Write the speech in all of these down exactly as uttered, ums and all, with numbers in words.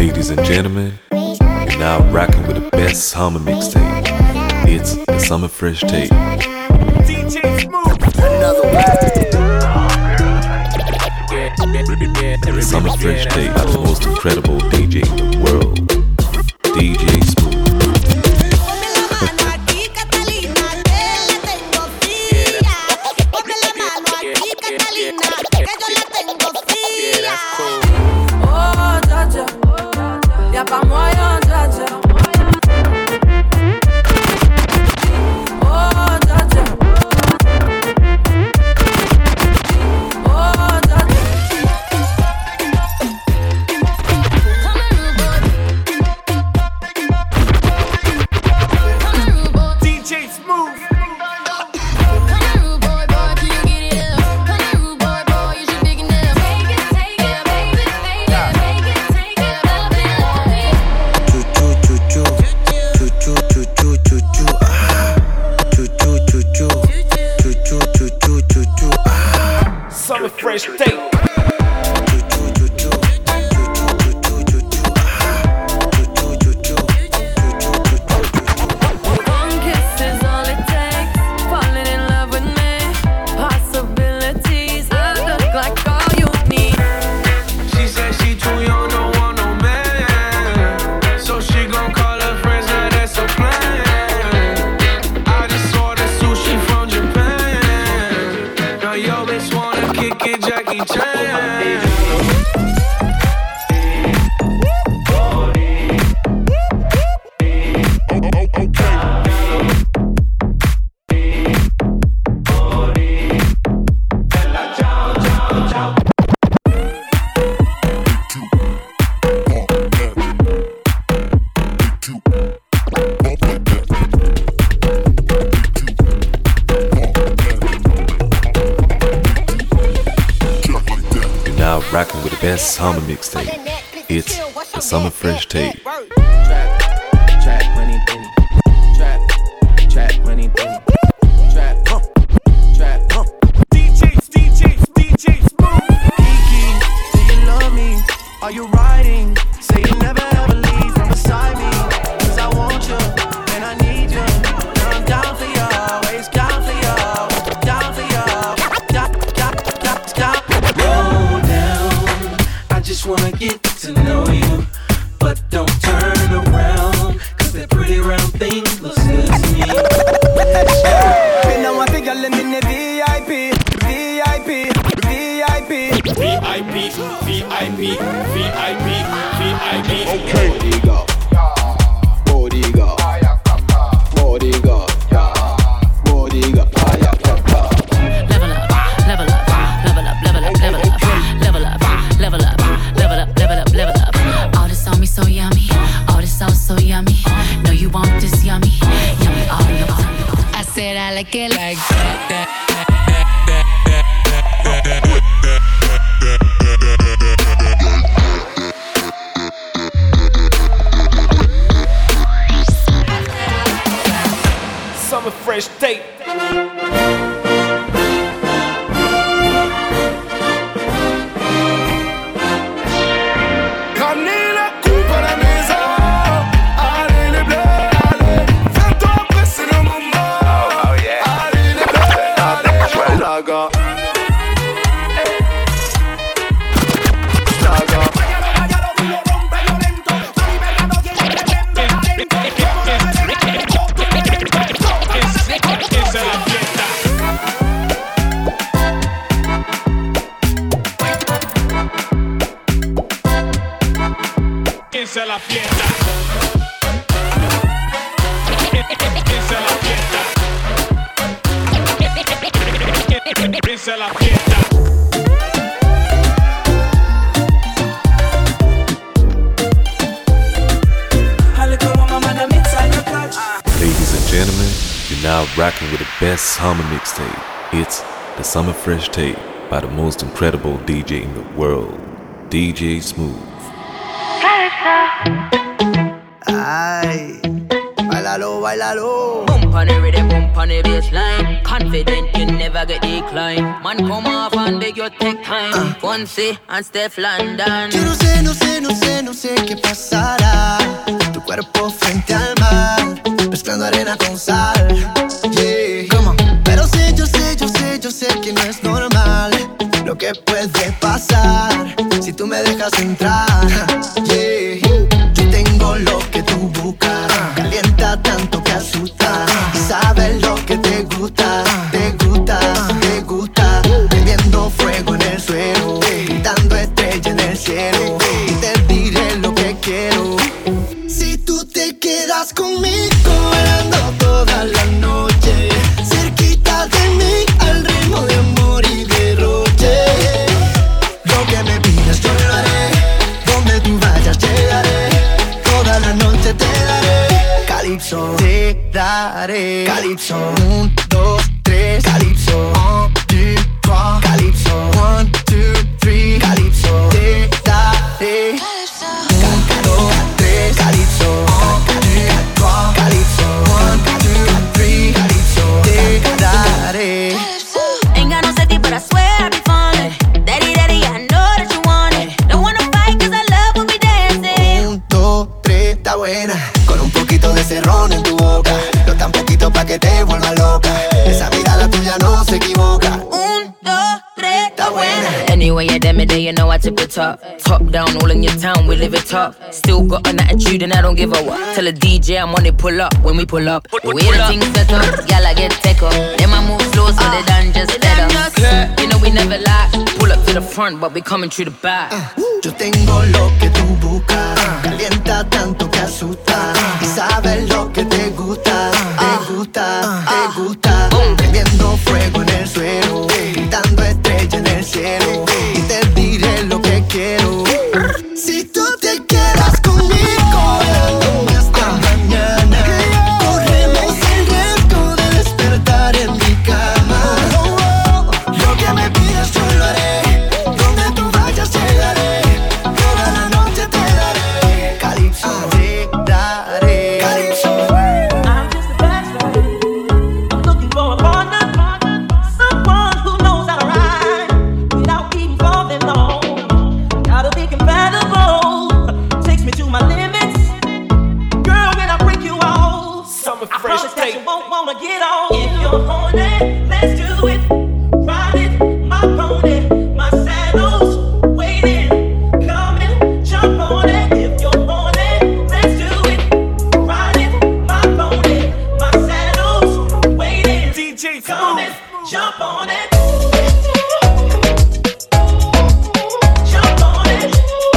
Ladies and gentlemen, you're now rocking with the best summer mixtape. It's the Summer Fresh Tape. D J Smooth. Another The Summer Fresh Tape by the most incredible D J in the world, D J Smooth. Fresh Tape. Rocking with the best summer mixtape. It's the Summer Fresh Tape. Trap, trap, money, penny. Trap, trap, money, penny. Trap, huh, trap, huh. D Js, D Js, D Js, Smooth. Kiki, do you love me? Are you riding? Say you never ever leave from beside me. Cause I want you, and I need you. And I'm down for you, always down for you. Down for you, down, down, down, down. Roll down, I just wanna get to know you. But don't turn around, cause that pretty round thing looks good to me. Me now want to get them in the V I P, V I P, V I P, V I P, V I P, V I P, V I P. Okay. Bodyguard, bodyguard, bodyguard, bodyguard. Level up, level up, level up, level up, level up, level up, level up, level up, level up, level up. All this on me so yummy, all this sauce so yummy. No, you want this yummy, yummy all your time. I said I like it like that, that. Summer Fresh Tape. Esa es la fiesta. Esa es la fiesta. Esa es la fiesta. Ladies and gentlemen, you're now rocking with the best summer mixtape. It's the Summer Fresh Tape by the most incredible D J in the world, D J Smooth. Ay, bailalo, bailalo. Bump on the rhythm, bump on the bassline. Confident you never get decline. Man come off and beg you take time. Fonse and Steph London. Yo no sé, no sé, no sé, no sé qué pasa. Yeah. Yo tengo lo que tú buscas, calienta tanto que asusta. Sabes lo que te gusta, te gusta, te gusta. Prendiendo fuego en el suelo, dando estrella en el cielo. Y te diré lo que quiero. Si tú te quedas conmigo, bailando toda la noche, cerquita de mí, al ritmo de amor y derroche. Lo que me pidas yo lo haré, donde tú vayas llegaré, toda la noche te daré. Calypso, te daré. Calypso, un, dos, tres. Calypso, un, two, trois. Calypso, one, two, three. Calypso, te daré. Un, dos, tres. Calypso, un, two, trois. Calypso, one, two, three. Calypso, te daré. Ain't got no safety, but I swear I be falling. Daddy, daddy, I know that you want it. Don't wanna fight, cause I love when we dancing. Un, dos, tres, está buena. Con un poquito de cerrón en tu boca. No tan poquito pa' que te vuelva loca. Esa mirada tuya no se equivoca. Un, dos, tres, Está buena. Anyway, yeah, damn it, day, you know I tip the top. Top down, all in your town, we live it top. Still got an attitude and I don't give a what. Tell a D J I'm on it, pull up when we pull up. We the things set up, y'all I get take up. Then I move slow so they done just better. You know we never lie. Pull up to the front, but we coming through the back. Yo tengo lo que tú buscas, calienta tanto que asusta. Y sabes lo que te gusta, te gusta, te gusta. Prendiendo fuego en el suelo, dando estrella en el cielo. Y te diré lo que quiero. Si tú te quedas conmigo, bailando hasta mañana, corremos el riesgo de despertar en mi cama. Lo que me pidas yo lo haré, donde tú vayas llegaré, toda la noche te daré. Calypso, te daré. Calypso. I'm just a bachelor. I'm looking for a partner, someone who knows how to ride without even falling low. Gotta be compatible, takes me to my limits. Girl, when I break you off, Summer I Fresh promise that Tape. you won't wanna get off. If you're horny, let's do it. Ride it, my pony, my saddle's waiting. Come and jump on it. If you're horny, let's do it. Ride it, my pony, my saddle's waiting. D J Come Smooth. and jump on it. Jump on it.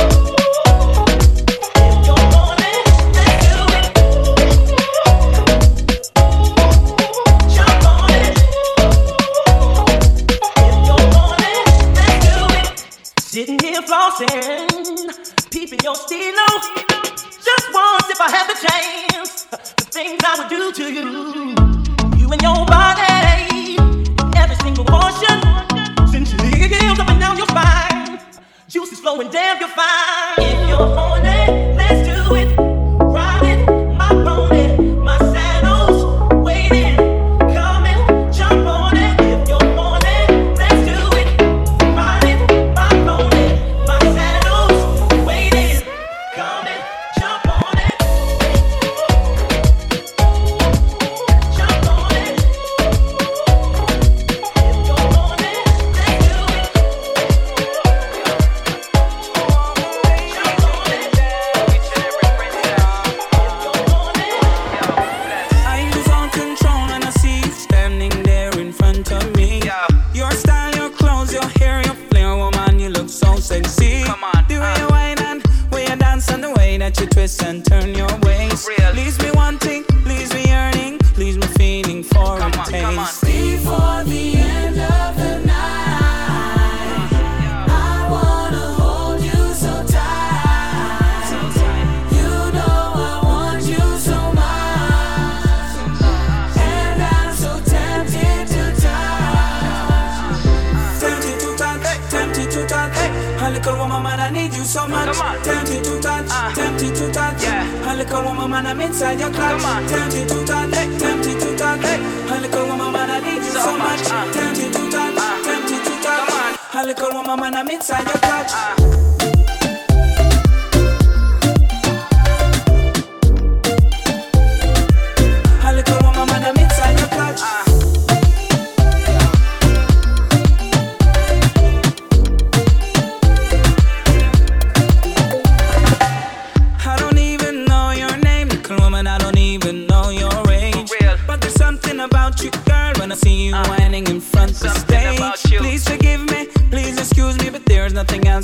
If you're horny, let's do it. Jump on it. If you're horny, let's do it. Sitting here flossing, peeping your stilo. Just once, if I had the chance, the things I would do to you. You and your body, every single portion, sensually up and down your spine. Juices flowing, damn, you're fine. If you're horny, let's do it. Ride it, my pony, my saddle's waiting. Come and jump on it. If you're horny, let's do it. Ride it, my pony, my saddle's waiting. Come and jump on it. Jump on it. If you're horny, let's do it. Jump on it. I lose all control and I see you standing there in front of me. Your style, your clothes, your hair, your flair, woman, you look so sexy. Come on, the way uh. you whine and way you dance and the way that you twist and turn your waist. Real. Leaves me wanting, leaves me yearning, leaves me feeling for Come a on, taste. come on. Before the end of the night, I wanna hold you so tight. You know I want you so much, and I'm so tempted to touch. Tempted to touch, tempted to touch. A little woman, man, I need you so much. Come on. Tempted to touch, Uh. tempted to touch. Yeah. A little woman, man, I'm inside your clutch. Come on. Tempted to touch, tempted to touch. A little woman, man, I need you so, So much. much, uh. Tempted to touch, Uh. tempted to touch. Come on. A little woman, man, I'm inside your clutch. Uh. A little woman, man, I'm inside your clutch.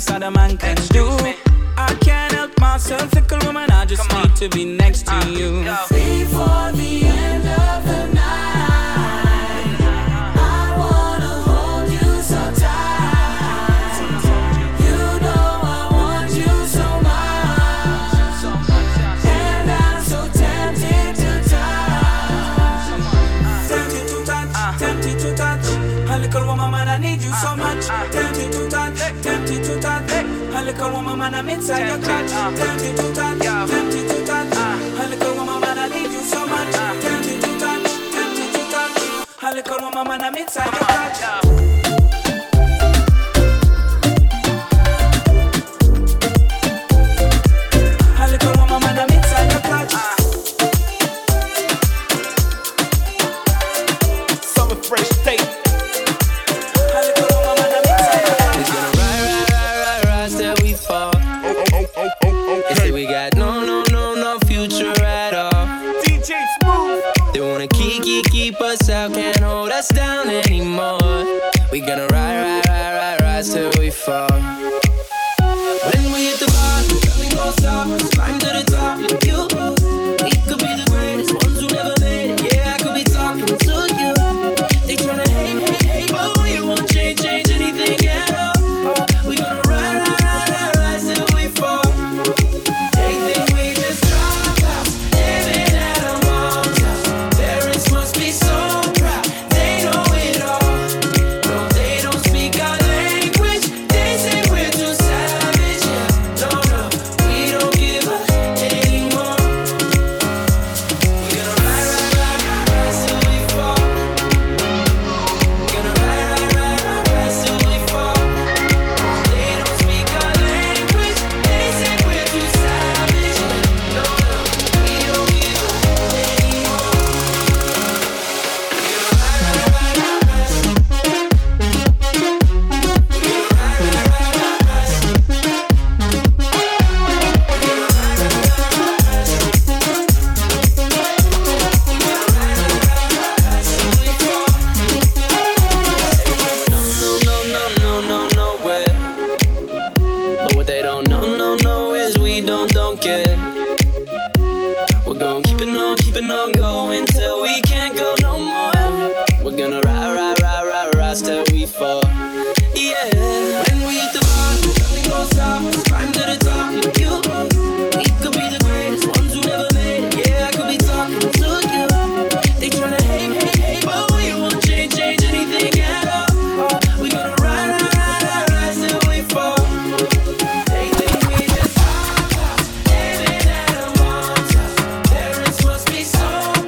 nice other man can do. I can't help myself, fickle woman, I just Come need on. to be next to uh, you. Yo. Before the end of the night, I wanna hold you so tight. You know I want you so much, and I'm so tempted to touch. Tempted to touch, tempted to touch. A little woman, man, I need you so much. Tempted to touch, tempted to touch. A little woman, man, I'm inside your clutch. Tempted to touch, tempted to touch. A little woman, man, I need you so much. Tempted to touch, tempted to touch. A little woman, man, I'm inside your clutch. A little woman, man, I'm inside your clutch. Summer Fresh Tape. They say we got no, no, no, no future at all. D J Smooth. They wanna keep, keep, keep us out, can't hold us down anymore. We gonna ride, ride, ride, ride, rise till we fall. When we hit the bar, nothing gon' stop us. Climb to the top, you. We could be the greatest ones who never made it. Yeah, I could be talking to you. They tryna hate, hate, hate, but we won't change, change anything at all. We gonna ride, ride, ride, ride, rise till we fall. They think we just dropped out, living at a motel. Parents must be so proud, they know it all. No, they don't speak our language. They say we're too savage. Yeah, no, no, we don't give up anymore. We're gonna ride, ride, ride, ride, rise till we fall. We're gonna ride, ride, ride, ride, rise till we fall. They don't speak our language. They say we're too savage. Yeah, no, no, we don't give up anymore. We're gonna ride, ride, ride, ride, rise. We're gonna ride, ride, ride, ride, rise. We're gonna ride, ride, ride, rise. No, no, no, no, no, nowhere. But what they don't know, no, no, is we don't, don't care. We're gonna keep it on, keep it on going till we can't go no more. We're gonna ride, ride, ride, ride, rise till we fall. Yeah. When we hit the bar, nothing gon' stop us. Climb to the top, you. We could be the greatest ones who never made it. Yeah, I could be talking to you. They tryna hate, hate, hate, but we won't change, change anything at all. We gonna ride, ride, ride, ride, rise till we fall. They think we just dropped out, living at a motel. Parents must be so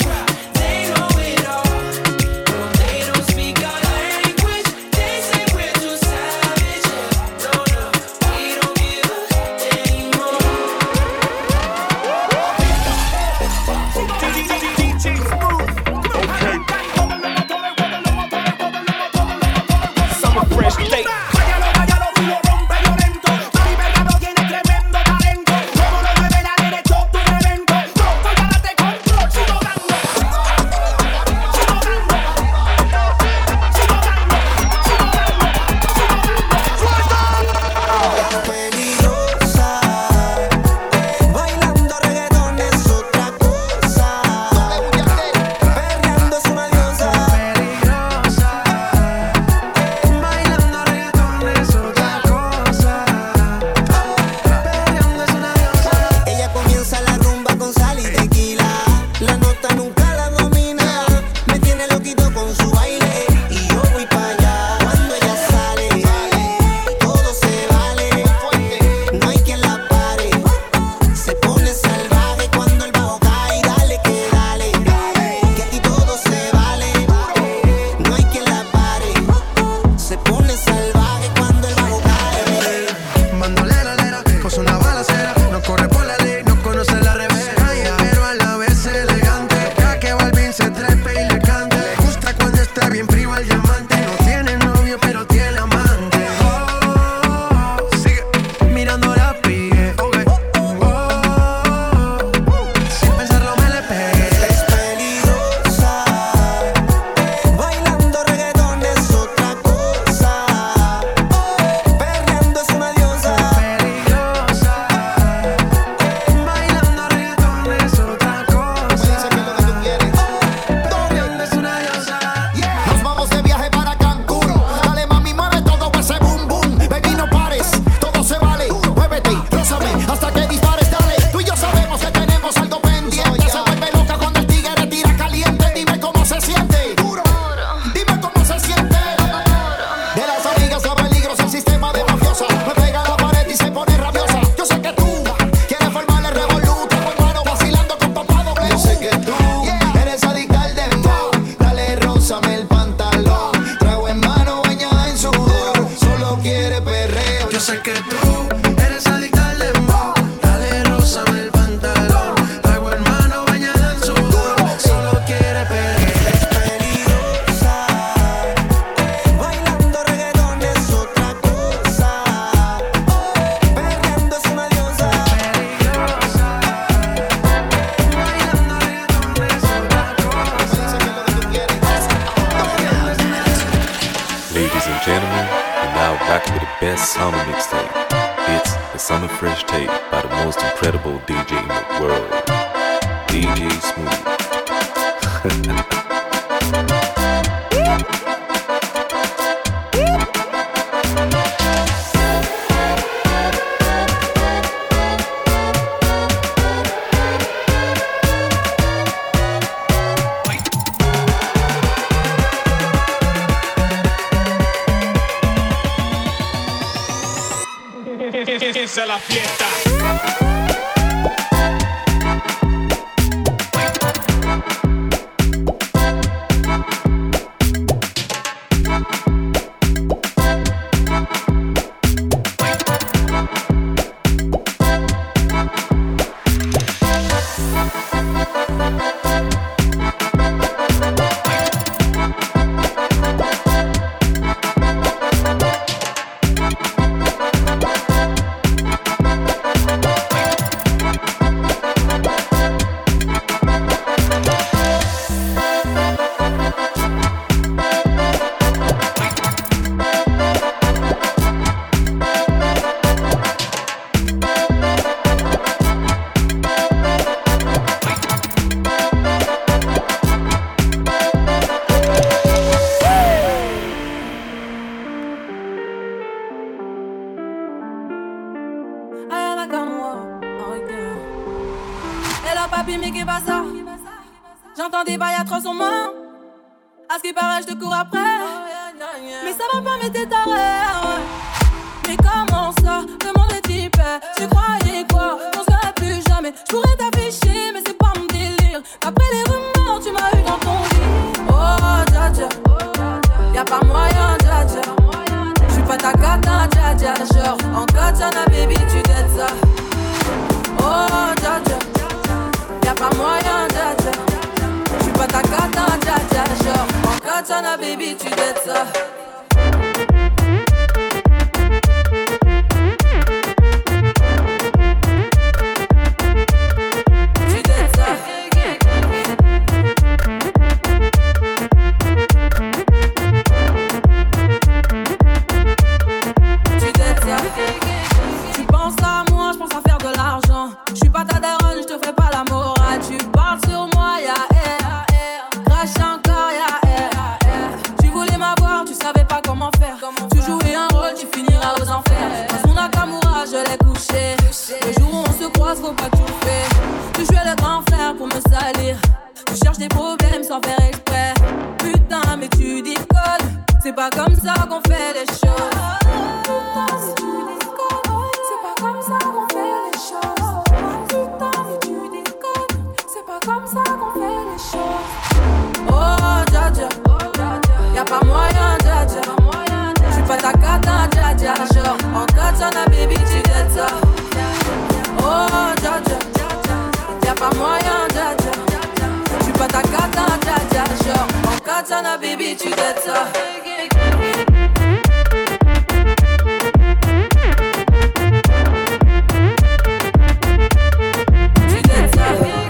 best summer mixtape. It's the Summer Fresh Tape by the most incredible D J in the world, D J Smooth. Esa es la fiesta. J'entends des bails atroces en main. À ce qui paraît, je te cours après. Mais ça va pas, mais t'es taré. Mais comment ça, demande les types. Tu croyais quoi, on se verrait plus jamais. Je pourrais t'afficher, mais c'est pas mon délire. Après les rumeurs, tu m'as eu dans ton lit. Oh, dja dja, y'a pas moyen, dja dja. J'suis pas ta cata, dja dja. Genre, en katana, baby, tu dettes ça. Oh, dja dja, y'a pas moyen, dja dja. J'suis pas ta katana, dja dja. Genre, en katana, baby, tu dettes ça. Faut pas tout faire. Tu jouais le grand frère pour me salir. Tu cherches des problèmes sans faire exprès. Putain, mais tu déconnes. C'est pas comme ça qu'on fait les choses. Putain, mais tu déconnes. C'est pas comme ça qu'on fait les choses. Putain, mais tu déconnes. C'est pas comme ça qu'on fait les choses. Oh, dja dja, y'a pas moyen, dja dja. J'suis pas ta katana, dja dja. Genre, en katana, baby, tu dettes ça. Oh, dja dja, y'a pas moyen, dja dja. J'suis pas ta katana, dja dja. Genre, en katana, baby, tu dettes ça. Tu dettes ça.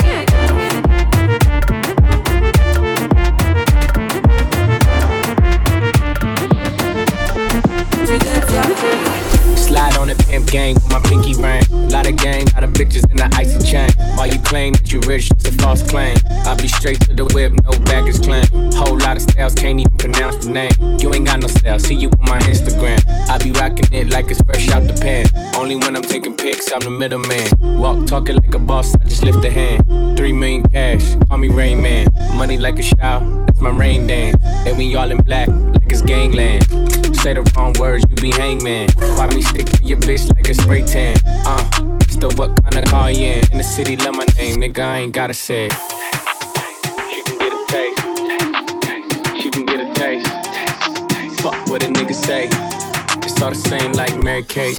Tu dettes ça. Slide on the pimp gang with my pinky ring. Lot of gang, lot of bitches in the icy chain. While you claim that you rich, it's a false claim. I'll be straight to the whip, no baggage claim. Whole lot of styles, can't even pronounce the name. You ain't got no style, see you on my Instagram. I be rocking it like it's fresh out the pan. Only when I'm taking pics, I'm the middleman. Walk talking like a boss, I just lift a hand. Three million cash, call me Rain Man. Money like a shower, that's my rain dance. And we all in black, like it's gangland. Say the wrong words, you be hangman. Why me stick to your bitch like a spray tan? Uh, still what kind of car you in? In the city, love my name, nigga, I ain't gotta say it. She can get a taste. She can get a taste. Fuck what a nigga say. It's all the same like Mary Kate.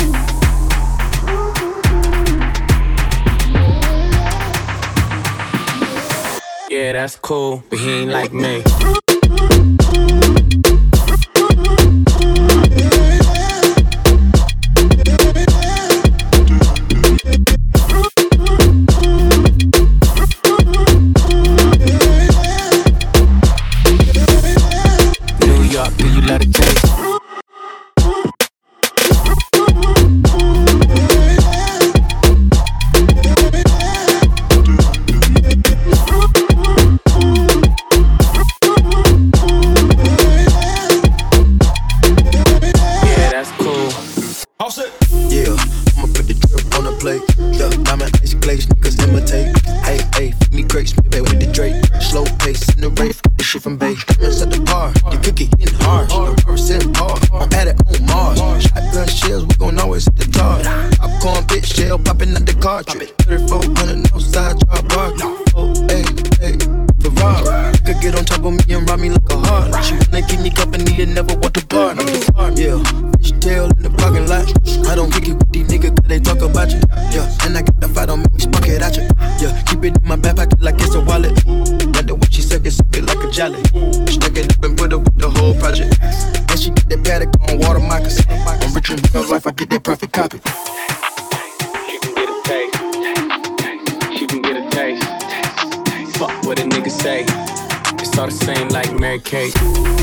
Yeah, that's cool, but he ain't like me. cartridge. thirty-four hundred, no side drop bar. Oh, hey, hey, Ferrari. Could get on top of me and ride me like a Harley. She wanna keep me company and never want to bar. Yeah, fish tail in the parking lot. I don't kick it with these niggas cause they talk about you. Yeah, and I got the fight on me, spark it at you. Yeah, keep it in my back pocket like it's a wallet. Like the way she suck it, suck it like a jelly. Stack it up and put it with the whole project. And she get that paddock on water moccasins. I'm rich in real life, I get that perfect copy. She can get a taste. She can get a taste. Fuck what a nigga say. It's all the same like Mary Kate.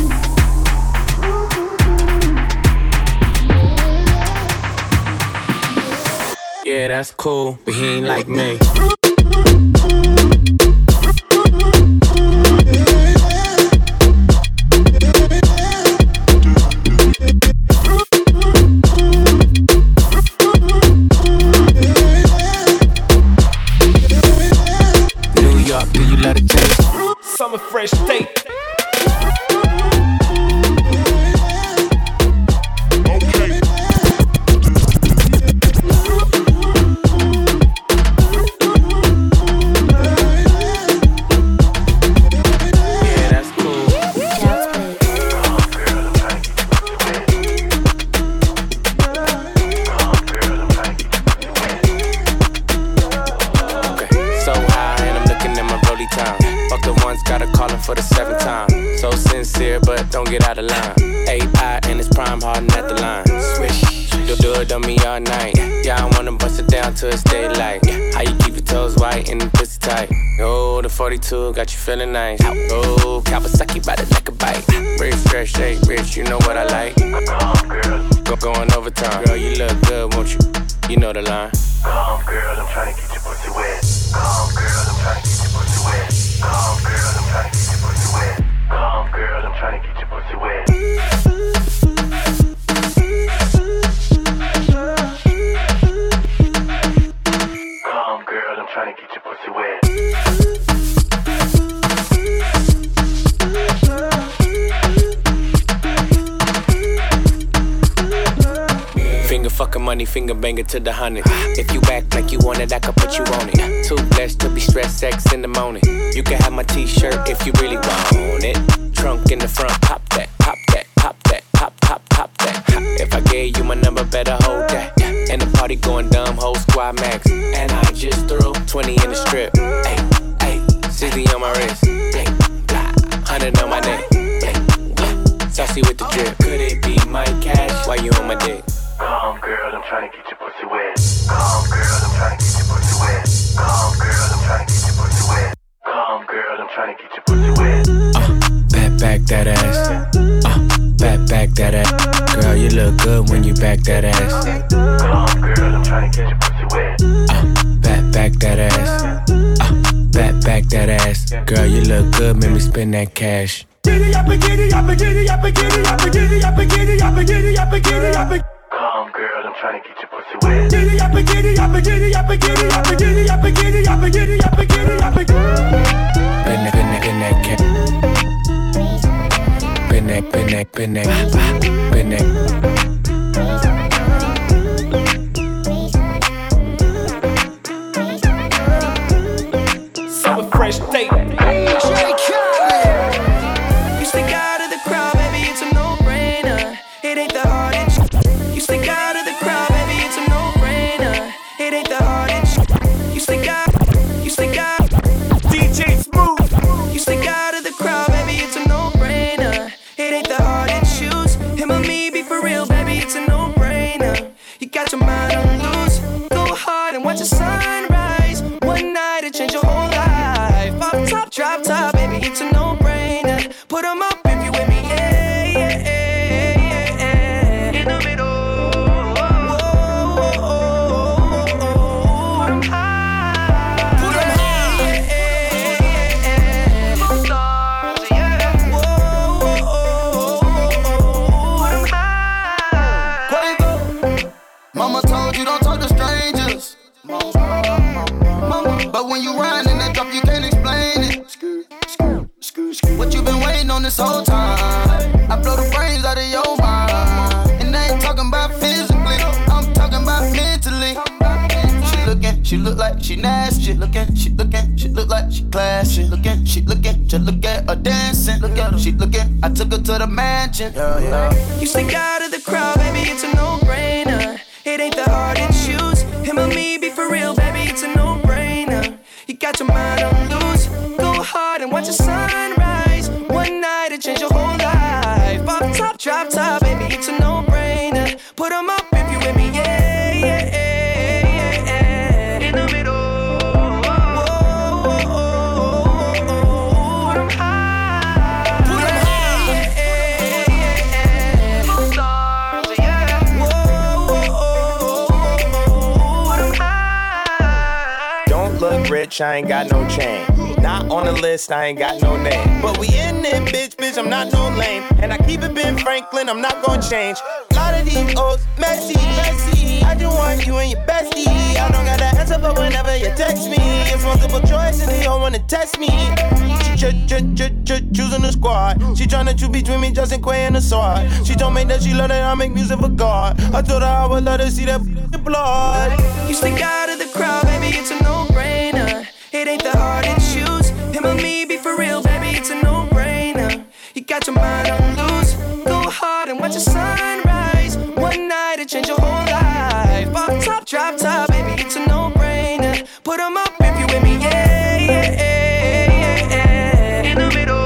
Yeah, that's cool, but he ain't like me. New York, do you let it taste? Summer fresh take. For the seventh time, so sincere, but don't get out of line. A I and it's prime hardin' at the line. Swish, do, do it on me all night. Yeah, I wanna bust it down till it's daylight. How you keep your toes white and the pussy tight? Oh, the forty-two got you feeling nice. Oh, Kawasaki by the neck a bite. Rich, fresh, shake, rich, you know what I like. Come, girl. Go going overtime. Girl, you look good, won't you? You know the line. Come, girl, I'm trying to get your pussy wet. Come, girl, I'm trying to get your pussy wet. Come, girl, I'm trying to get your pussy wet. Come, girl, I'm trying to get your pussy wet. Come, girl, I'm trying to get your pussy wet. Finger fucking money, finger banger to the hundred. If you act like you want it, I can put you on it. Too blessed to be stressed, sex in the morning. You can have my t-shirt if you really want it. Trunk in the front, pop that, pop that, pop that, pop, pop, pop that. If I gave you my number, better hold that. And the party going dumb, whole squad max. And I just threw twenty in the strip. Ay, ay, sixty on my wrist. Ay, blah, one hundred on my neck. Ay, blah, saucy with the drip. Could it be my cash? Why you on my dick? Come, girl, I'm trying to get your pussy wet. Come, girl, I'm trying to get your pussy wet. Come, girl, I'm trying to get your pussy wet. Come, girl, I'm trying to get your pussy wet. Uh, back, back that ass. Uh, back, back that ass. Girl, you look good when you back that ass. Come, girl, I'm trying to get your pussy wet. Uh, back, back that ass. Uh, back, back that ass. Girl, you look good, make me spend that cash. Giddy up, giddy up, giddy up, giddy up, giddy up, giddy up, giddy up, giddy up. Come, girl, I'm trying to get your pussy wet. Giddy up, giddy up, giddy up, giddy up, giddy up, giddy up, giddy up, giddy up. Been that, been that, been that cat. Been that, been that, been that, been that. Summer fresh take. You stick out of the crowd, baby, it's a no-brainer. It ain't the hardest. You stick out of the crowd, baby, it's a no-brainer. It ain't the hardest. You stick out, you stick out. D J Smooth. You stick out of the crowd, baby, it's a no-brainer. It ain't the hardest shoes. Him or me, be for real, baby, it's a no-brainer. You got your mind on loose. Go hard and watch the sunrise. One night it change your whole life. Pop top, drop top, baby, it's a no-brainer. Put 'em up if you with me, yeah, yeah, yeah, yeah, yeah. In the middle. Mama told you don't talk to strangers. But when you ride in that drop, you can't explain it. What you been waiting on this whole time? I blow the brains out of your mind. And I ain't talking about physically, I'm talking about mentally. She looking, she look like she nasty. She looking, she looking, she look like she classy. Looking, she looking, just look at her dancing. Look at her, she looking. I took her to the mansion. Yeah, yeah. You stick out of the crowd, baby, it's a no-brainer. It ain't that hard to choose. Him or me, be for real, baby, it's a no-brainer. You got your mind on loose. Go hard and watch the sunrise. One night it change your whole life. Pop top, drop top, baby, it's a no-brainer. Put 'em up if you with me, yeah, yeah, yeah, yeah. In the middle. Rich, I ain't got no chain. Not on the list, I ain't got no name. But we in it, bitch, bitch, I'm not no lame. And I keep it Ben Franklin, I'm not gonna change. A lot of these old messy, messy. I just want you and your bestie. I don't got the answer, but whenever you text me, it's multiple choice and they don't wanna test me. She ch- ch- ch- ch- choosing the squad. She tryna choose between me, Justin Quay and the sword. She told me that she love that I make music for God. I told her I would let her see that blood. You stick out of the crowd, baby, it's a no-brainer. It ain't that hard to choose. Him or me, be for real, baby, it's a no-brainer. You got your mind on loose. Go hard and watch the sunrise. One night it change your whole life. Pop top, drop top, baby, it's a no-brainer. Put 'em up if you with me, yeah, yeah, yeah, yeah. In the middle.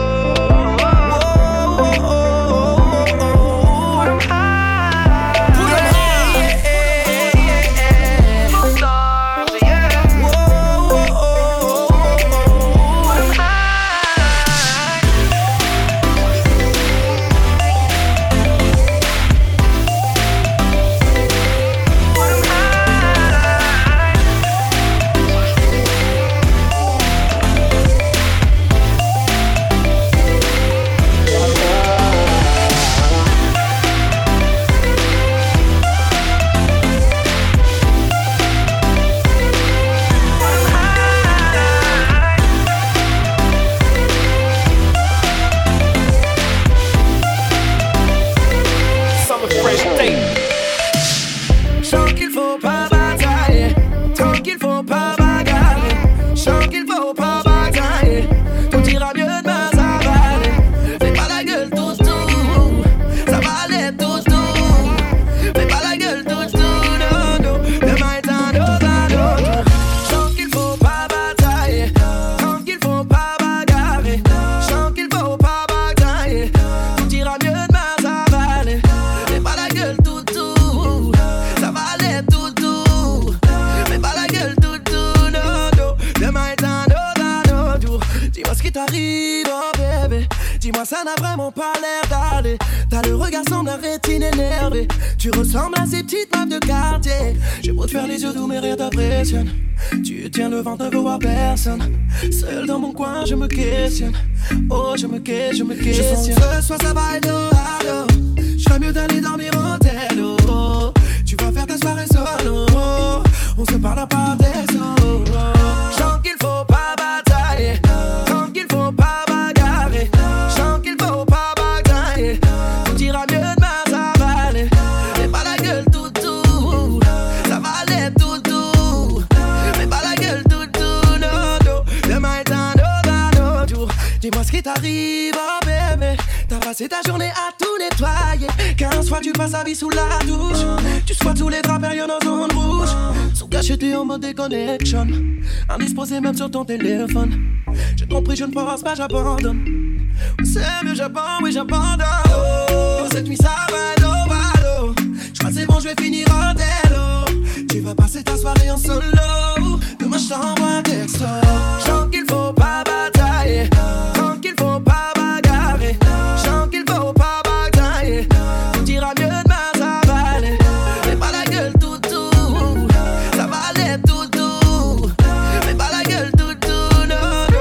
Ça n'a vraiment pas l'air d'aller. T'as le regard sans la rétine énervée. Tu ressembles à ces petites meufs de quartier. J'ai beau te faire les yeux doux mais rien t'impressionne. Tu tiens le ventre, ne veux voir personne. Seul dans mon coin je me questionne. Oh je me questionne, je me questionne. Je sens que ce soir ça va être hard. J'ferais mieux d'aller dormir en tel. Oh, tu vas faire ta soirée solo. On se parle par des solos. Chant qu'il faut pas batailler. Tant qu'il faut pas bagarrer. Chant qu'il faut pas batailler. Tout ira mieux demain, ça va aller. Mais pas la gueule tout tout. Ça va aller tout tout. Mais pas la gueule tout tout. Non, non. Demain est un autre, un autre jour. Dis-moi ce qui t'arrive, oh bébé. T'as passé ta journée à tout nettoyer. Quinze fois tu passes ta vie sous la douche. Tu squattes sous les draps, période en zone rouge. Sous cacheté en mode déconnexion. Indisposé même sur ton téléphone. J'ai compris, je ne pense pas, j'abandonne. C'est mieux, j'abandonne, oui j'abandonne. Oh, cette nuit ça va être au ballot. J'crois c'est bon, je vais finir en télo. Tu vas passer ta soirée en solo. Demain je t'envoie un texto. Chant qu'il faut pas batailler. Tant qu'il faut pas bagarrer. Chant qu'il faut pas batailler. Tout ira mieux demain, ça va aller. Mais pas la gueule tout tout. Ça va aller tout tout. Mais pas la gueule tout tout, non, non.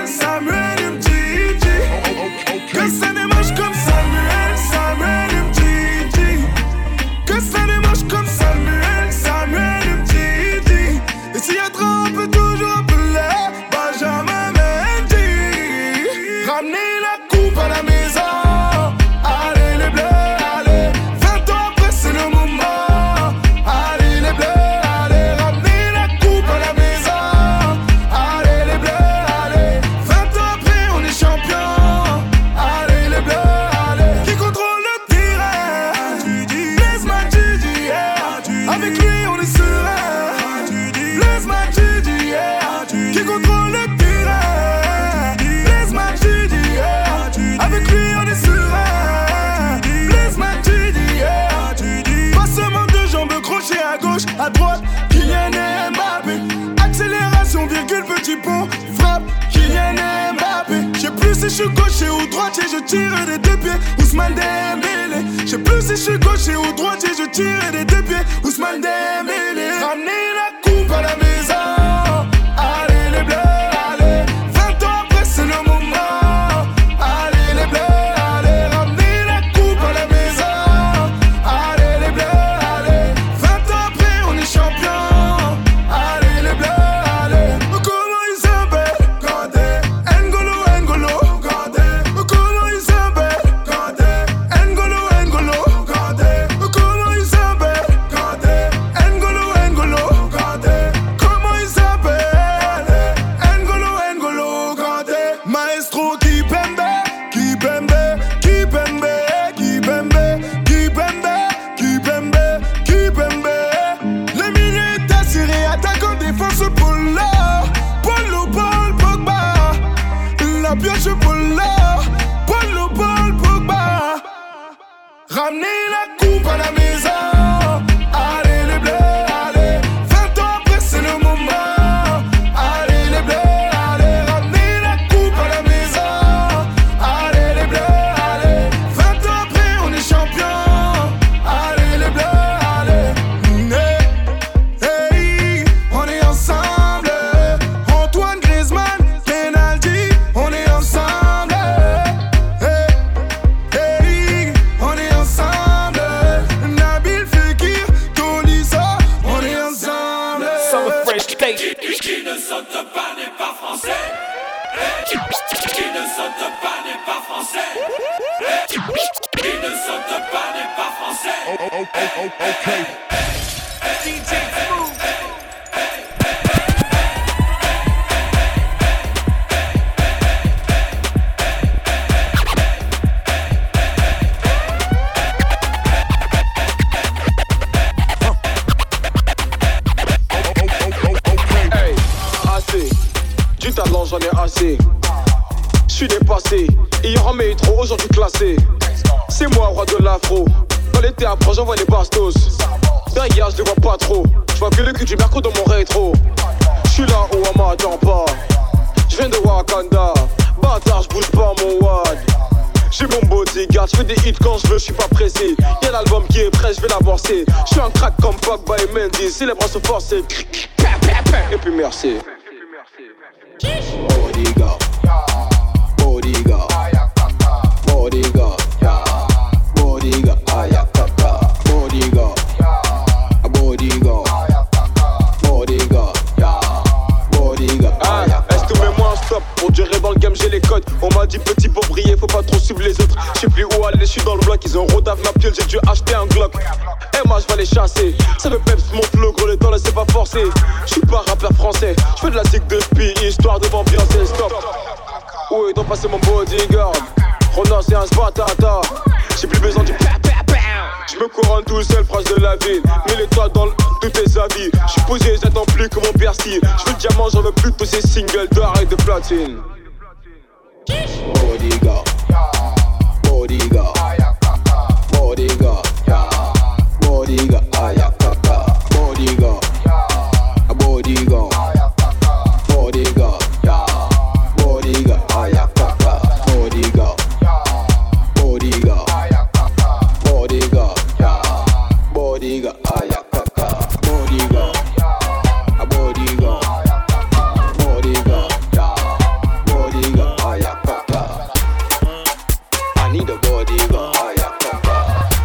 Samuel, Samuel M G G. pont, frappe, Kylian Mbappé. J'sais plus si je suis gaucher ou droitier, je tire des deux pieds, Ousmane Dembélé. J'sais plus si je suis gaucher ou droitier, je tire des deux pieds, Ousmane Dembélé. Ramenez la coupe à la maison, allez les bleus, allez. Vingt ans après c'est le moment, allez les bleus, allez. Ramenez la coupe à la maison, allez les bleus, allez. Vingt ans après on est champion, allez les bleus, allez. Comment ils s'appellent Kanté, N'Golo, N'Golo, Kanté. Comment ils s'appellent Kanté, N'Golo, N'Golo, Kanté. Comment ils s'appellent Kanté, N'Golo, N'Golo, Kanté. Comment ils s'appellent N'Golo, N'Golo, Kanté. Maestro Kipembe, Kipembe, Kipembe, Kipembe, Kipembe, Kipembe, Kipembe. Le milieu est assuré, attaquant, défense, Polo, Polo, Paul, Pogba. La pioche, Polo, Polo, Paul, Pogba. Ramenez la coupe à la maison, allez les bleus, allez. Vingt ans après c'est le moment, allez les bleus, allez. Ramenez la coupe à la maison, allez les bleus, allez. Vingt ans après on est champion, allez les bleus, allez. Hey, hey, on est ensemble. Antoine Griezmann, penalty, on est ensemble. Hey, hey, on est ensemble. Nabil Fekir, Tolisso, on est ensemble. Summer Fresh Tape. Qui ne saute pas n'est pas français. Qui ne saute pas n'est pas français. Qui ne saute pas n'est pas français. Oh, oh, oh, oh, okay. D J Smooth. Hey, assez, du talent j'en ai assez. J'suis dépassé, hier en métro, aujourd'hui classé. C'est moi roi de l'afro, dans les théâtres j'envoie les bastos. Derrière je les vois pas trop, j'vois que le cul du merco dans mon rétro. J'suis là où on m'attend pas, j'viens de Wakanda. Bâtard j'bouge pas mon wad. J'ai mon bodyguard, j'fais des hits quand j'veux, j'suis pas pressé. Y'a l'album qui est prêt, j'vais l'avancer. J'suis un crack comme Pogba et Mendy, si les bras sont forcés. Et puis merci. Bodyguard, bodyguard, bodyguard, bodyguard, ayakaka, bodyguard, bodyguard, bodyguard, bodyguard. Ah, est-ce que mets-moi un stop? Pour durer dans le game j'ai les codes. On m'a dit petit pour briller faut pas trop suivre les autres. J'sais plus où aller, j'suis dans le bloc. Ils ont rodave ma piole, j'ai dû acheter un Glock. Et moi j'vais les chasser. Ça me peps mon flow, gros les temps laissez pas forcer. J'suis pas rappeur français, j'fais de la zig depuis histoire de m'ambiancer. Stop. Où est donc passé mon bodyguard? Rona c'est un sbatata. J'ai plus besoin du pa pa pa. J'me couronne tout seul, proche de la ville. Mets les toits dans le tous tes avis. J'suis posé, j'attends plus que mon persil. J'veux le diamant, j'en veux plus de ces singles d'or et de platine. Bodyguard, bodyguard, bodyguard, bodyguard, ayakaka, bodyguard, bodyguard, bodyguard, bodyguard, ayakaka, bodyguard, bodyguard, bodyguard, bodyguard, ayakaka, bodyguard, bodyguard, bodyguard, bodyguard, ayakaka. I need a bodyguard, ayakaka.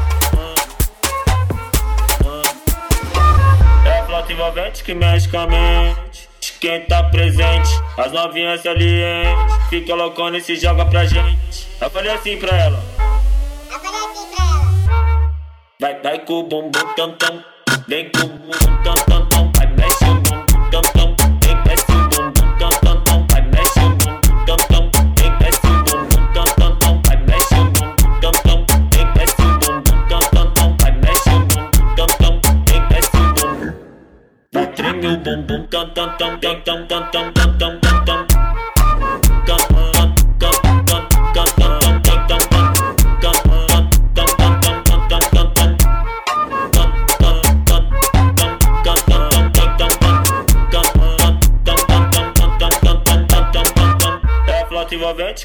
É flauta envolvente que mexe com a mente de quem tá presente. As novinhas salientes fica loucona e se joga pra gente. Eu falei assim pra ela. Eu falei assim pra ela. Vai, vai com o bumbum tam tam. Vem com o bumbum tam tam tam. Vai, mexe o bumbum tam tam. Vem, mexe o bumbum tam tam tam. Vai, mexe o bumbum tam tam. Vem, mexe o bumbum tam tam tam. Vai, mexe o bumbum tam tam. Vem, mexe o bumbum tam tam tam. Vai, mexe o bumbum tam tam. Vem, mexe o bumbum. Vai, treme o bumbum tam tam tam tam tam tam tam tam tam tam tam.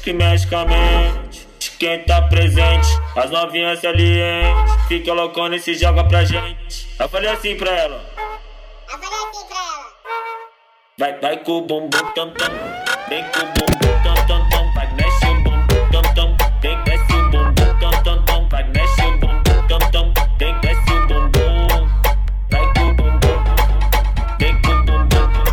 que mexe com a mente de quem tá presente. As novinhas salientes fica loucona e se joga pra gente. Eu falei assim pra ela. Eu falei assim pra ela. Vai, vai com o bumbum tam tam. Vem com o bumbum tam tam tam. Vai, mexe o bumbum tam tam. Vem, desce o bumbum tam tam tam. Vai, mexe o bumbum tam tam. Vem, desce o bumbum. Vai com o bumbum. Vem com o bumbum.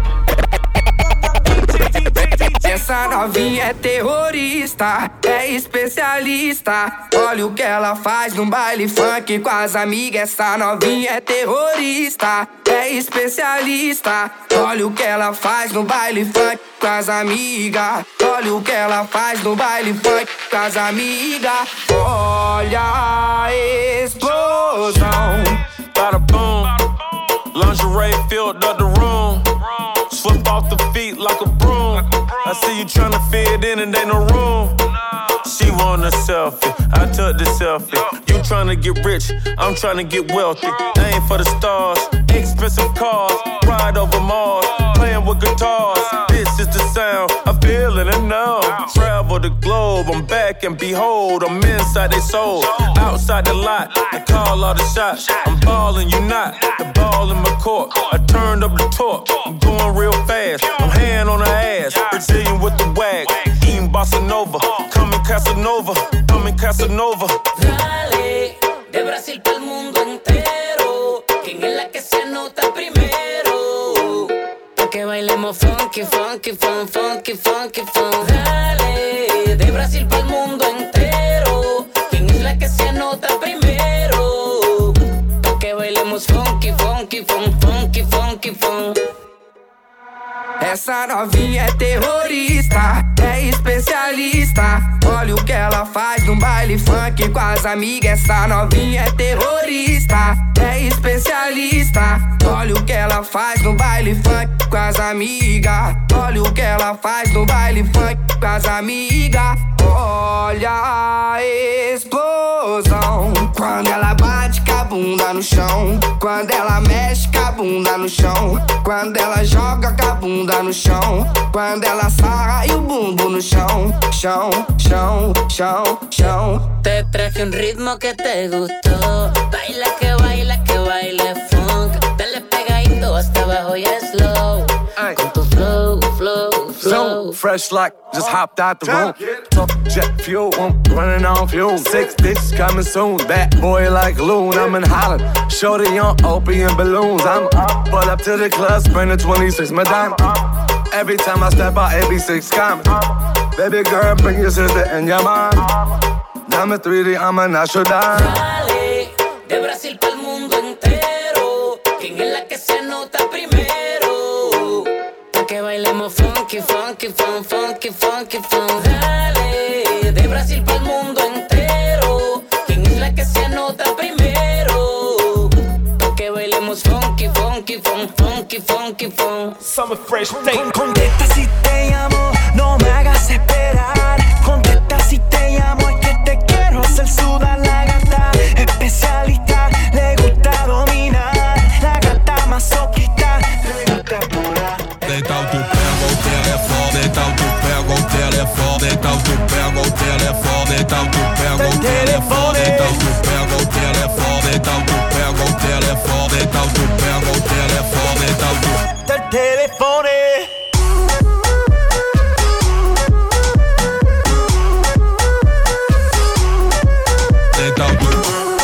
Essa novinha é terrorista, é especialista. Olha o que ela faz no baile funk com as amigas. Essa novinha é terrorista, é especialista. Olha o que ela faz no baile funk com as amigas. Olha o que ela faz no baile funk com as amigas. Olha a explosão. Bada boom, lingerie filled up the room. Swept off the feet like a broom. I see you tryna fit in and ain't no room. She want a selfie, I took the selfie. You tryna get rich, I'm tryna get wealthy. Aim for the stars, expensive cars, ride over Mars, playing with guitars. This is the sound, I feel it and know. Travel the globe, I'm back and behold, I'm inside they soul. Outside the lot, I call all the shots. I'm ballin', you not, the ball in my court. I turned up the torque, I'm going real fast. I'm hand on her ass, Brazilian with the wag, eating bossa nova. Coming Casanova, coming Casanova. Dale, de Brasil pa'l mundo entero. ¿Quién es la que se anota primero? Pa' que bailemos funky, funky, fun, funky, funky, fun. Dale, de Brasil pa'l mundo entero. ¿Quién es la que se anota primero? Pa' que bailemos funky, funky, fun, funky, funky, fun. Essa novinha é terrorista, é especialista. Olha o que ela faz no baile funk com as amigas. Essa novinha é terrorista, é especialista. Olha o que ela faz no baile funk com as amigas. Olha o que ela faz no baile funk com as amigas. Olha a explosão. Quando ela bate com a bunda no chão. Quando ela mexe com a bunda no chão. Quando ela joga com a bunda no chão. Quando ela sarra e o bumbo no chão. Chão, chão, chão, chão. Te traje un ritmo que te gustó. Baila que baila que baile funk. Dale pegadito hasta abajo y slow. Con tu flow, flow, flow. So fresh like just hopped out the room. Top jet fuel, I'm running on fuel. Six bitches coming soon. Bad boy like Loon, I'm in Holland. Shorty on opium balloons. I'm up, pull up to the club, spending twenty-six Madonna. Every time I step out, it be six commas. Baby girl, bring your sister and your mom. Diamond three D, I'm a natural dime. Dale, de Brasil pa'l mundo entero. ¿Quién es la que se anota primero? Pa' que bailemos funky, funky, fun, funky, funky, fun. Dale, de Brasil pa'l mundo entero. ¿Quién es la que se anota primero? Pa' que bailemos funky, funky, fun, funky, funky, fun. Summer Fresh Tape. Con- Contesta si te llamo, no me hagas esperar. Contesta si te llamo, es que te quiero hacer sudar la gata. Especialista, le gusta dominar. La gata masoquista, le gusta pura. Então tu pega o telefone, então tu pega o telefone, então tu pega o telefone, então tu pega o telefone, então tu pega o telefone, então tu pega o telefone, então tu pega o telefone, então tu Del telefone. Então tu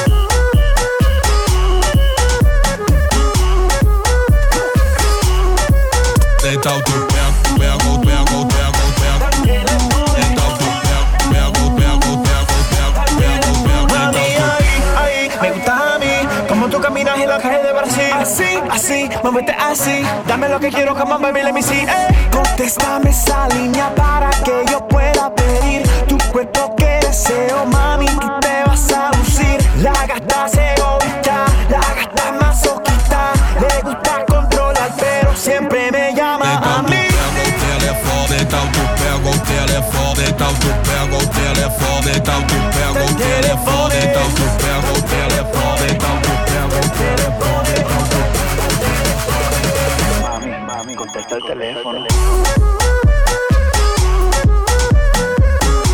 Então tu pega, pega, pega, pega, pega. Então tu pega, pega, pega, pega, pega, Mami, ahí, ahí, me gustas a mí. Como tú caminas en la calle de Brasil. Así, así, muévete así. Dame lo que quiero, come on, baby, let me see. Eh. Contéstame esa línea para que yo pueda pedir tu cuerpo que deseo, mami, tú te vas a lucir. La gata se egoísta, la gata masoquista. Le gusta controlar, pero siempre me llama a mí. Então tu pega o telefone, então tu pega o telefone, então tu pega o telefone, então tu pega o telefone, então tu pega o telefone, então tu pega o telefone. Mami, mami, contesta el teléfono.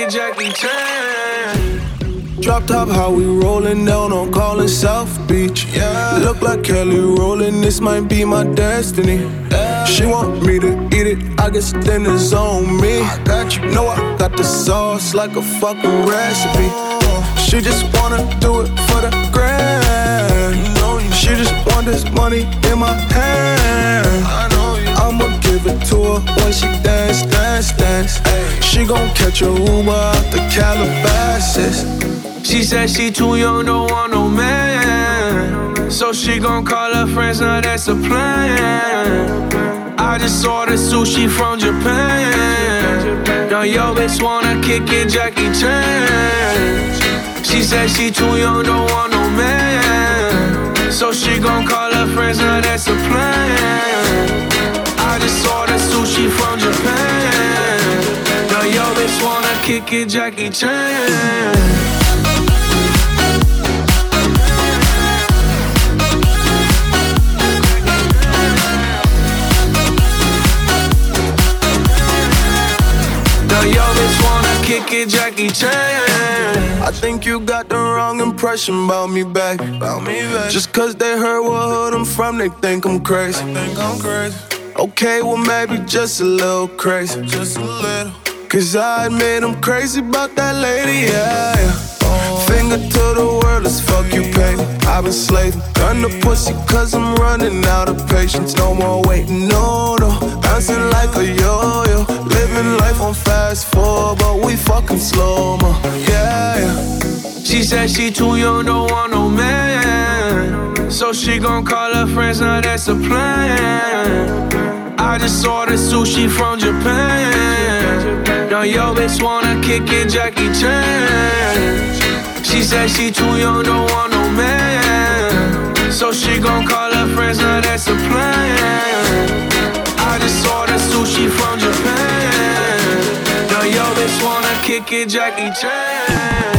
it Jackie Chan. Drop top, how we rollin' down on callin' South Beach. Yeah. Look like Kelly rollin', this might be my destiny. Yeah. She want me to eat it, I guess then it's on me. I got you, know I got the sauce like a fucking recipe. She just wanna do it for the grand. She just want this money in my hand. I'ma give it to her when she dance, dance, dance. She gon' catch a Uber out the Calabasas. She said she too young, don't want no man. So she gon' call her friends, now that's a plan. I just ordered sushi from Japan. Now yo bitch wanna kick it Jackie Chan. She said she too young, don't want no man. So she gon' call her friends, now that's a plan. I just ordered sushi from Japan. Now yo bitch wanna kick it Jackie Chan. Now yo bitch wanna kick it Jackie Chan. I think you got the wrong impression about me back. About me back. Just cause they heard what hood I'm from, they think I'm crazy. They think I'm crazy. Okay, well maybe just a little crazy. Just a little. Cause I admit I'm crazy about that lady, yeah, yeah. Finger to the world, let's fuck you, baby. I've been slaving, done the pussy cause I'm running out of patience. No more waiting, no, no. Bouncing like a yo-yo. Living life on fast forward, but we fucking slow-mo, yeah, yeah. She said she too young, don't want no man. So she gon' call her friends, now that's a plan. I just ordered sushi from Japan. Now yo bitch wanna kick it Jackie Chan. She said she too young, don't want no man. So she gon' call her friends, now that's a plan. I just ordered sushi from Japan. Now yo bitch wanna kick it Jackie Chan.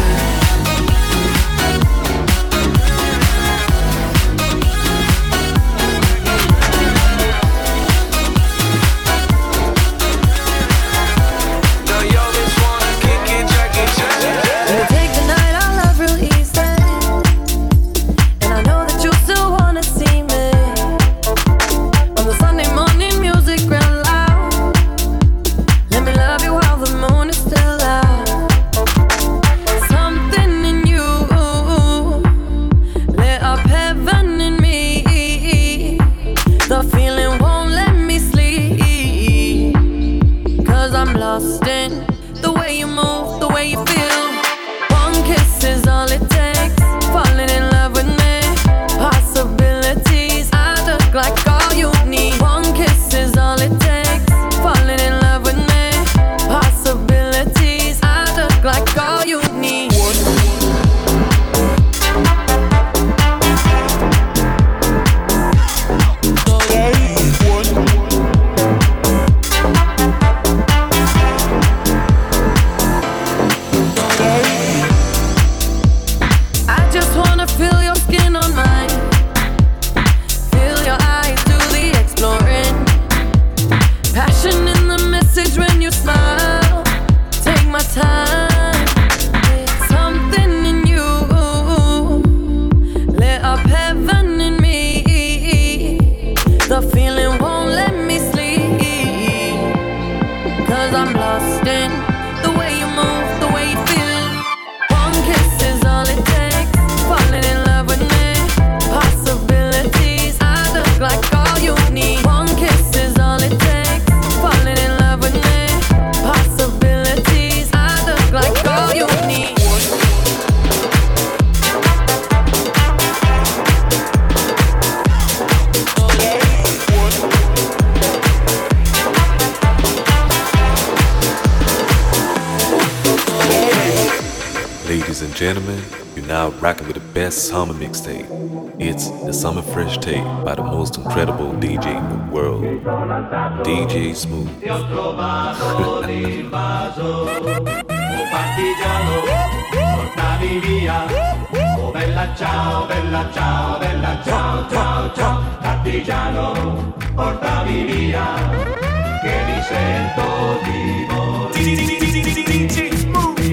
Ladies and gentlemen, you're now rocking with the best summer mixtape. It's the Summer Fresh Tape by the most incredible D J in the world, D J Smooth. Ti ho trovato l'invaso, oh partigiano, portami via. Oh bella ciao, bella ciao, bella ciao, ciao, ciao. Partigiano, portami via, che mi sento di morire.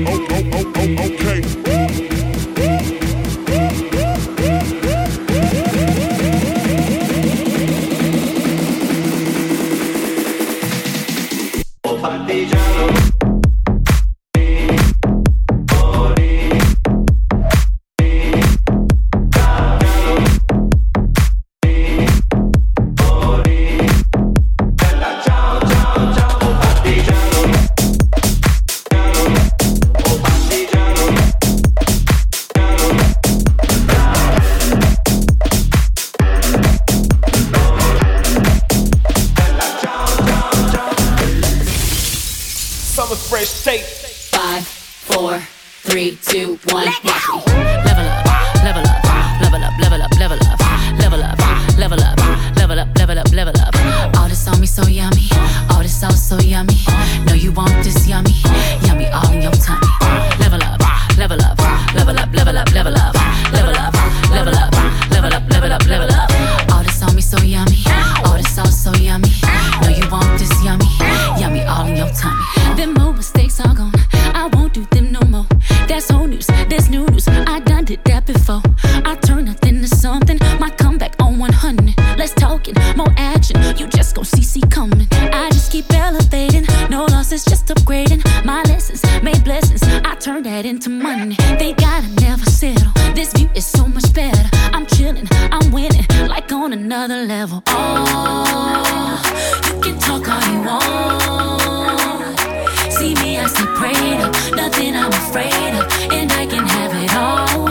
fresh tape. Five, four, three, two, one. Watch me. Level up, level up, level up, level up, level up, level up, level up, level up, level up, level up. All this on me so yummy, all this sauce so yummy. Know you want this yummy, yummy all in your tummy. Level up, level up, level up, level up, level up, level up, level up, level up, level up, level up. All this on me so yummy, all this sauce so yummy. Know you want this yummy, yummy all in your tummy. Them more mistakes are gone, I won't do them no more. That's old news, that's new news. I done did that before. I turn nothing to something. My comeback on one hundred. Less talking, more action. You just gon' see see coming. I just keep elevating. No losses, just upgrading. My lessons made blessings. I turn that into money. They gotta never settle. This view is so much better. I'm chilling, I'm winning, like on another level. Oh, you can talk all you want. See me, I stay prayed up. Nothing I'm afraid of, and I can have it all.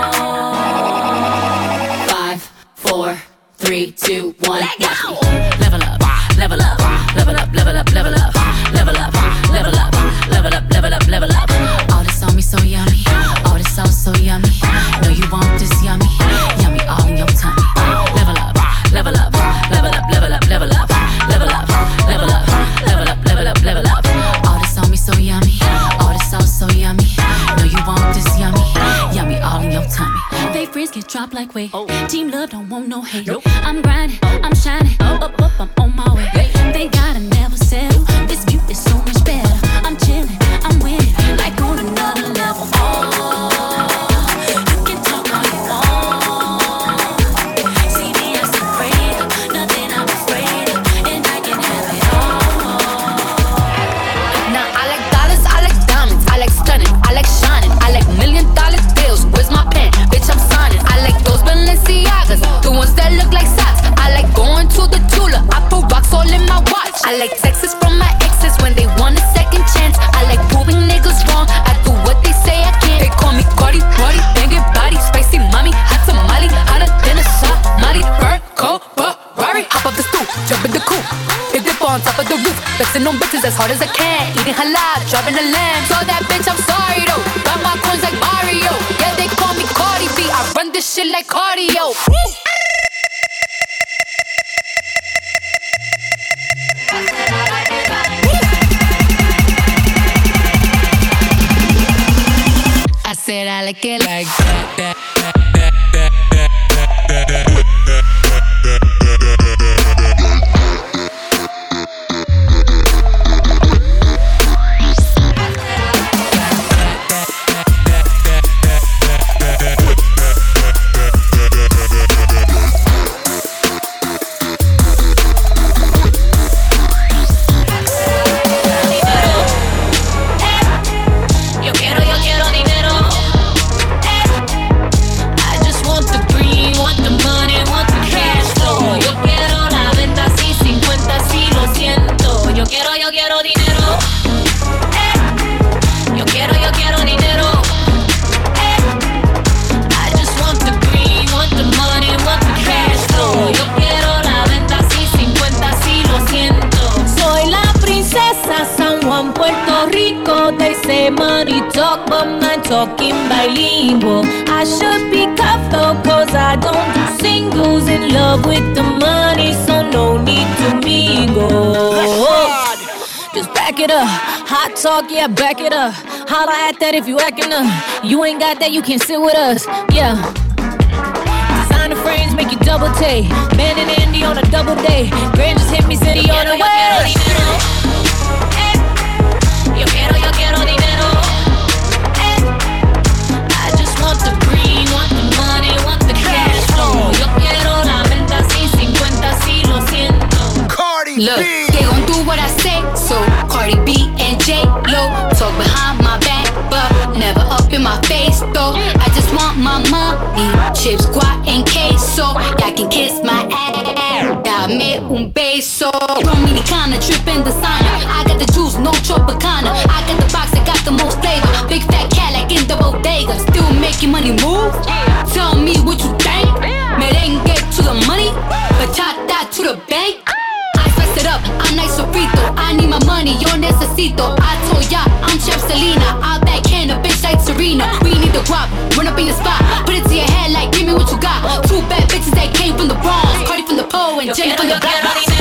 Five, four, three, two, one. Watch me. Level up, level up, level up, level up, level up, level up, level up, level up, level up, level up. All this on me so yummy, all this sauce so yummy. Know you want this yummy, yummy all in your tummy. Level up, level up, level up, level up, level up, level up, level up, level up, level up, level up. All this on me so yummy, all this sauce so yummy. Know you want this yummy, yummy all in your tummy. Fake friends get dropped like weight. Team love don't want no hate. I'm grinding, I'm shining, up, up, up, I'm on my way. They gotta never settle. This view is so much better. I'm chilling, I'm winning, like on another level. Oh, you can talk all you want. See me as a afraid of, nothing I'm afraid of, and I can have it all. Now I like dollars, I like diamonds, I like stunning, I like shining, I like million dollar deals. Where's my pen? Bitch, I'm signing. I like those Balenciagas, the ones that look like socks. I like going to the Tula, I put rocks all in my watch. I like texts from my exes when they want a second chance. I like proving niggas wrong, I do what they say I can't. They call me Cardi, Cardi, banging body, spicy mommy, hot tamale, hotter than a Somali. Burn, cold, Ferrari, hop up the stoop, jump in the coupe, hit dip on top of the roof, flexing on bitches as hard as I can, eating halal, driving a lamb. So that bitch, I'm sorry though, got my coins like Mario. Yeah, they call me Cardi B, I run this shit like cardio. Woo! I said I like it like that, that, that, that, that, that, that, that. Money talk, but my talking bilingual. I should be cuffed though, cause I don't do singles. In love with the money, so no need to mingle. Just back it up, hot talk, yeah, back it up. Holla at that if you acting up. You ain't got that, you can't sit with us, yeah. Designer frames make you double take. Ben and Andy on a double day. Grand just hit me, city on the way. Yo quiero, yo quiero dinero. Eh. I just want the green, want the money, want the cash flow. Yo quiero la venta sin cincuenta, si lo siento. Cardi Look, B. They gon' do what I say, so Cardi B and J-Lo talk behind my back, but never up in my face, though. I just want my money, chips, guac, and queso. Y'all can kiss my ass, dame un beso. Dominicana, trippin' designer. I got the juice, no Tropicana. I got the box that got the most flavor. Big fat Cadillac in the bodega. Still making money move? Tell me what you think. Merengue to the money, bachata to the bank. I spice it up, I'm nice burrito. I need my money, yo necesito. I told ya, I'm Chef Selena. I backhand a bitch like Serena. We need the guap, run up in your spot. Put it to your head like, give me what you got. Two bad bitches that came from the Bronx. Cardi from the pole and Jenny from the block.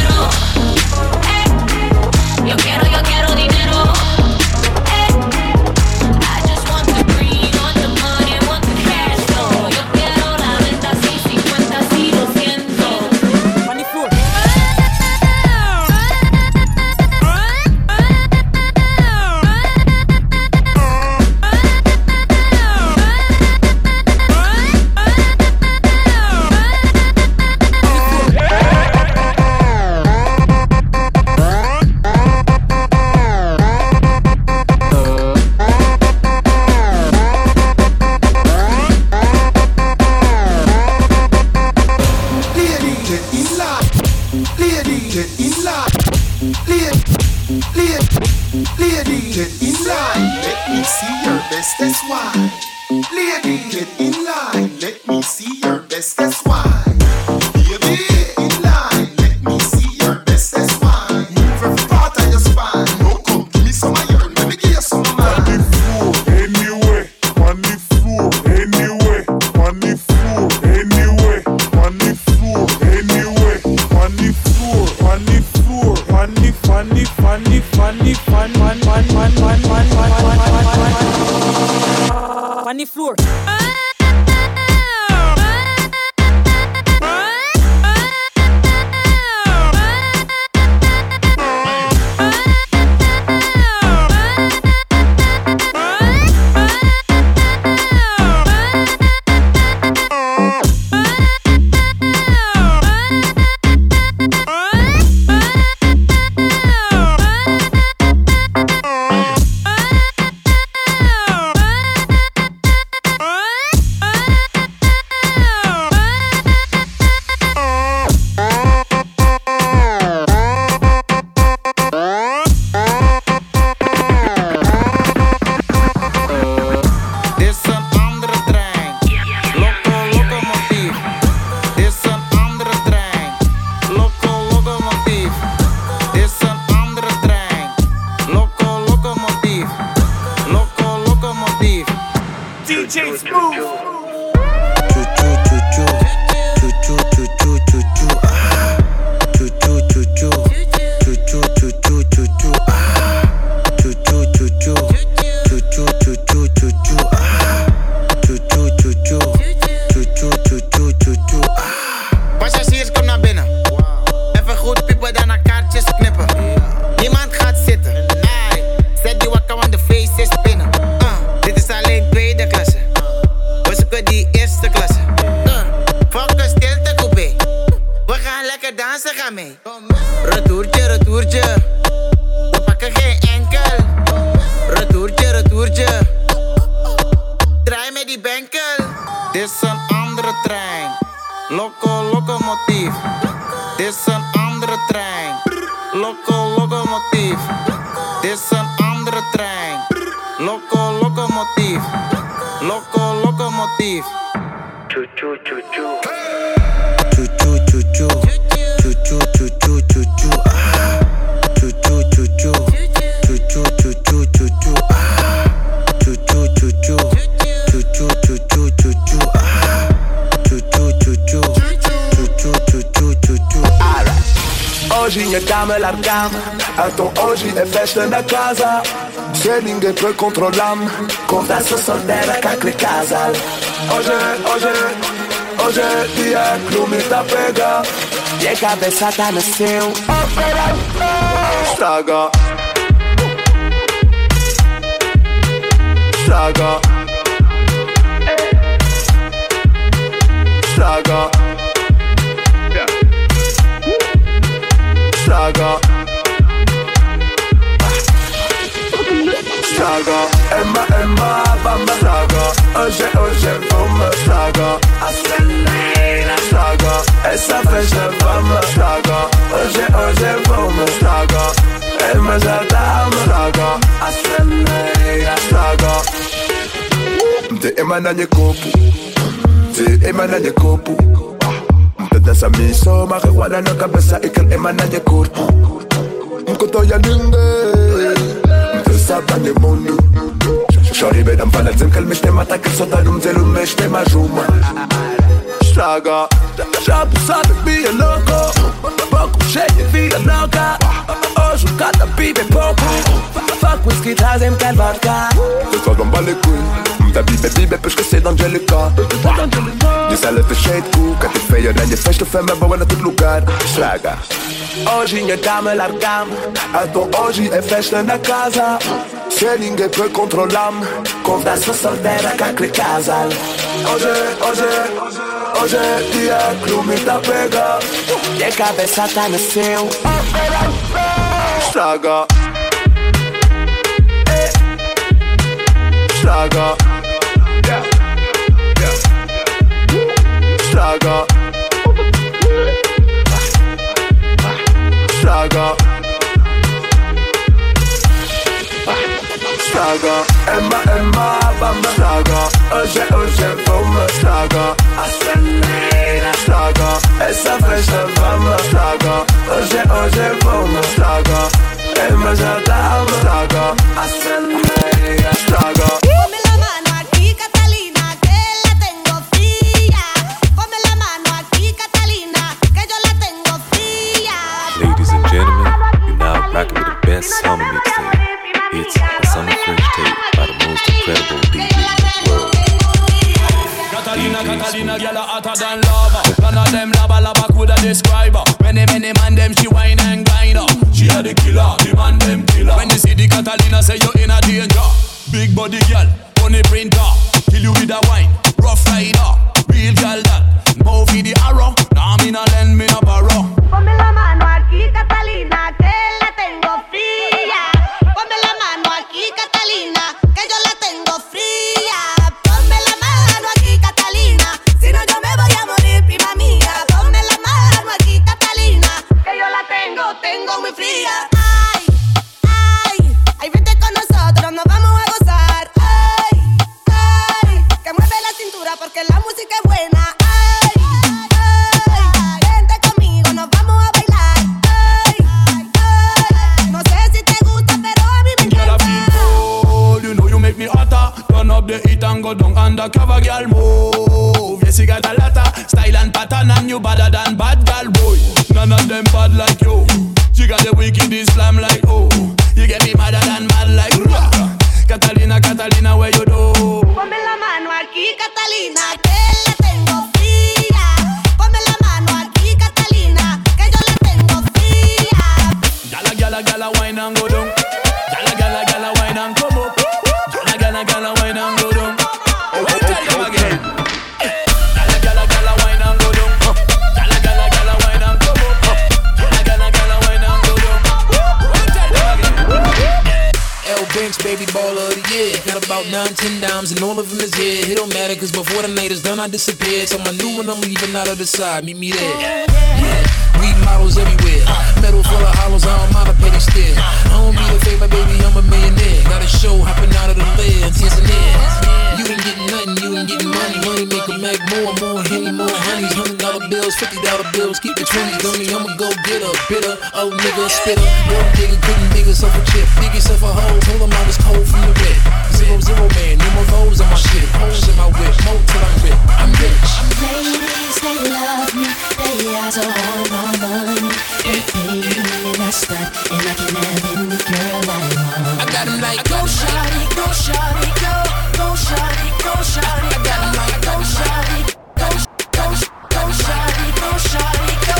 Yo quiero, yo quiero dinero. Eh. I just want the green, want the money, want the cash flow. Yo quiero la venta, sí, cincuenta, sí, doscientos. Money floor. That's why. Lady, get in line. Let me see your best. That's why. Baby, get in line. Let me see your best. That's why. Move every part of your spine. No, come give me some of your. Let me give you some of mine. On the floor, anyway. On the floor, anyway. On the floor, anyway. On the floor, anyway. On the floor, on the floor. On the funny, funny, funny, fun, fun, fun, fun, fun, fun, fun, fun, fun. On the floor. Retourtje, retourtje. We pakken geen enkel. Retourtje, retourtje. Draai met die benkel. Dit is een andere trein. Loco, locomotief. Dit is een andere trein. Loco, locomotief. Dit is een andere trein. Loco, locomotief. Loco, locomotief. Choo, choo, choo, choo. Choo, choo, choo, choo. Choo, choo, choo, choo, choo, choo. Choo, choo, choo, choo. Choo, choo, choo, choo, choo, choo. Choo, choo, choo, choo. Choo, choo, choo, choo, choo, choo. Choo, choo, choo, choo. Choo, choo, choo, choo, choo, choo. Alright. Hoje minha cama largada. Então hoje é festa na casa. Se ninguém pode controlar-me, conversa solteira com aquele casal. Hoje, hoje, hoje é dia que o me tá pega. E a cabeça tá no céu. Estraga. Estraga. Estraga. Estraga. Estraga. Emma, Emma, vamos estraga. Hoje, hoje vamos estraga. Acelera. Estraga. Essa festa vamos estraga. Hoje, hoje vamos estraga. Emma já dá estraga. Acelera. Estraga. De Emma na je kopu. De Emma na je kopu. Dessa missão, marihuana na cabeça e que Emma na je corpo. toyaninge Mtesabane mundu Shori bedam palatzim kalmishtem atakil sotalum zelum meshtem ajuma Straga Shabu sabe be a loco Pouco cheio vida louca Hoje o cada bibe pouco Fuck whisky trazem quer vodka Eu só gamba le couilles Da bibe bibe peux esquecer d'Angelica Diz ela te cheio de cuca Te feio na minha festa, fama boa na todo lugar Straga Hoje minha dama largamos Então hoje é festa na casa Se ninguém pode controlar-me Conversa solteira com aquele casal Hoje, hoje, hoje é dia que o me tá pega E a cabeça tá no céu Straga Straga Straga Straga Straga Emma, Emma, vamos Straga Hoje, hoje vamos Straga Acelera Straga Essa festa vamos Straga Hoje, hoje vamos Straga Emma já tá Straga Acelera Straga Ponme la mano aquí, Catalina, que la tengo fría. Ponme la mano aquí, Catalina, que yo la tengo fría. Ladies and gentlemen, you're now rocking with the best summer mixtape. It's the Summer Fresh Tape by the most incredible D J in the world. Catalina, Catalina, girl a hotter than lava. None of them lava lava coulda describe her. Many, many man them she wine and grind her. She a the killer, the man them killer. When you see the Catalina, say you in a danger. Big body girl, money printer. Kill you with a wine, rough rider. Real girl that, move with the arrow. Nah me nah lend me no borrow. Ponme la mano aquí, Catalina, que la tengo fría. Ponme la mano aquí, Catalina, que yo la tengo fría. Ponme la mano aquí, Catalina, si no yo me voy a morir, prima mía. Ponme la mano aquí, Catalina, que yo la tengo, tengo muy fría. Ay, ay, ay, vente con nosotros, nos vamos a gozar. Ay, ay, que mueve la cintura porque la música es buena. Ay, ay, vente conmigo, nos vamos a bailar. Ay, ay, no sé si te gusta, pero a mí me encanta. You know you make me hotter. Turn up the heat and go down undercover, girl. Move. Yes, you got a lotta style and pattern, and you better than bad girl, boy. None of them bad like you. You got the wickedest slam like oh. You get me madder than mad like rah. Catalina, Catalina, where you do? Ponme la mano aquí, Catalina, que la tengo fría. Ponme la mano aquí, Catalina, que yo la tengo fría. Gala, gala, gala, wine and go down. Gala, gala, gala, wine and come up. Gala, gala, gala, wine and go down. Oh, I tell you again. Gala, gala, gala, wine and go down. Gala, gala, gala, wine and come up. Gala, gala, gala, wine and go down. Oh, I tell you again. L Banks, baby baller of the year. Got about nine, ten dimes and all of them is here. It don't matter cause before the night is done I disappeared. So my new one I'm leaving out of the side, meet me there. Yeah, weed models everywhere. Metal full of hollows, I don't mind a petty stare. I don't need a favor, baby, I'm a millionaire. Got a show hopping out of the lid, tears and ears. You ain't getting nothing, you ain't getting money. Money make a Mac more, more Henny, more honeys. Hundred dollar bills, fifty dollar bills, keep the twenties on me. I'ma go get a bitter, oh nigga, spitter. One nigga couldn't dig yourself a chip, dig yourself a hole. Told him I was cold from the rip. Zero, zero man, no more foes on my shit. Holes in my whip, more till I'm rip. I'm rich. Ladies, they love me, they ask for all my money. They pay me and I stunt, and I can have any girl I want. I got 'em like, go shawty, go shawty, go, go shawty, go shawty. I got 'em like, go shawty, go, go, go shawty, go shawty, go.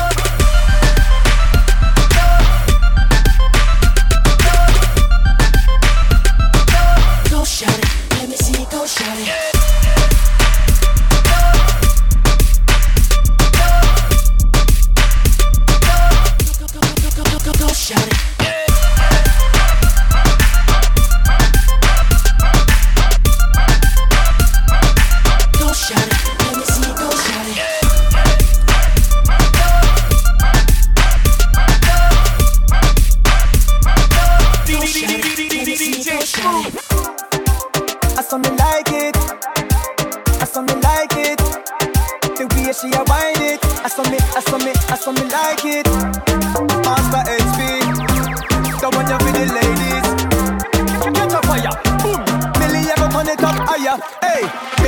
Go shawty, let me see you go shawty. Go shawty. Go shawty, let me see you go shawty. I saw me like it, I saw me like it. The way she a wind it, I saw me, I saw me, I saw me like it. Master H P, the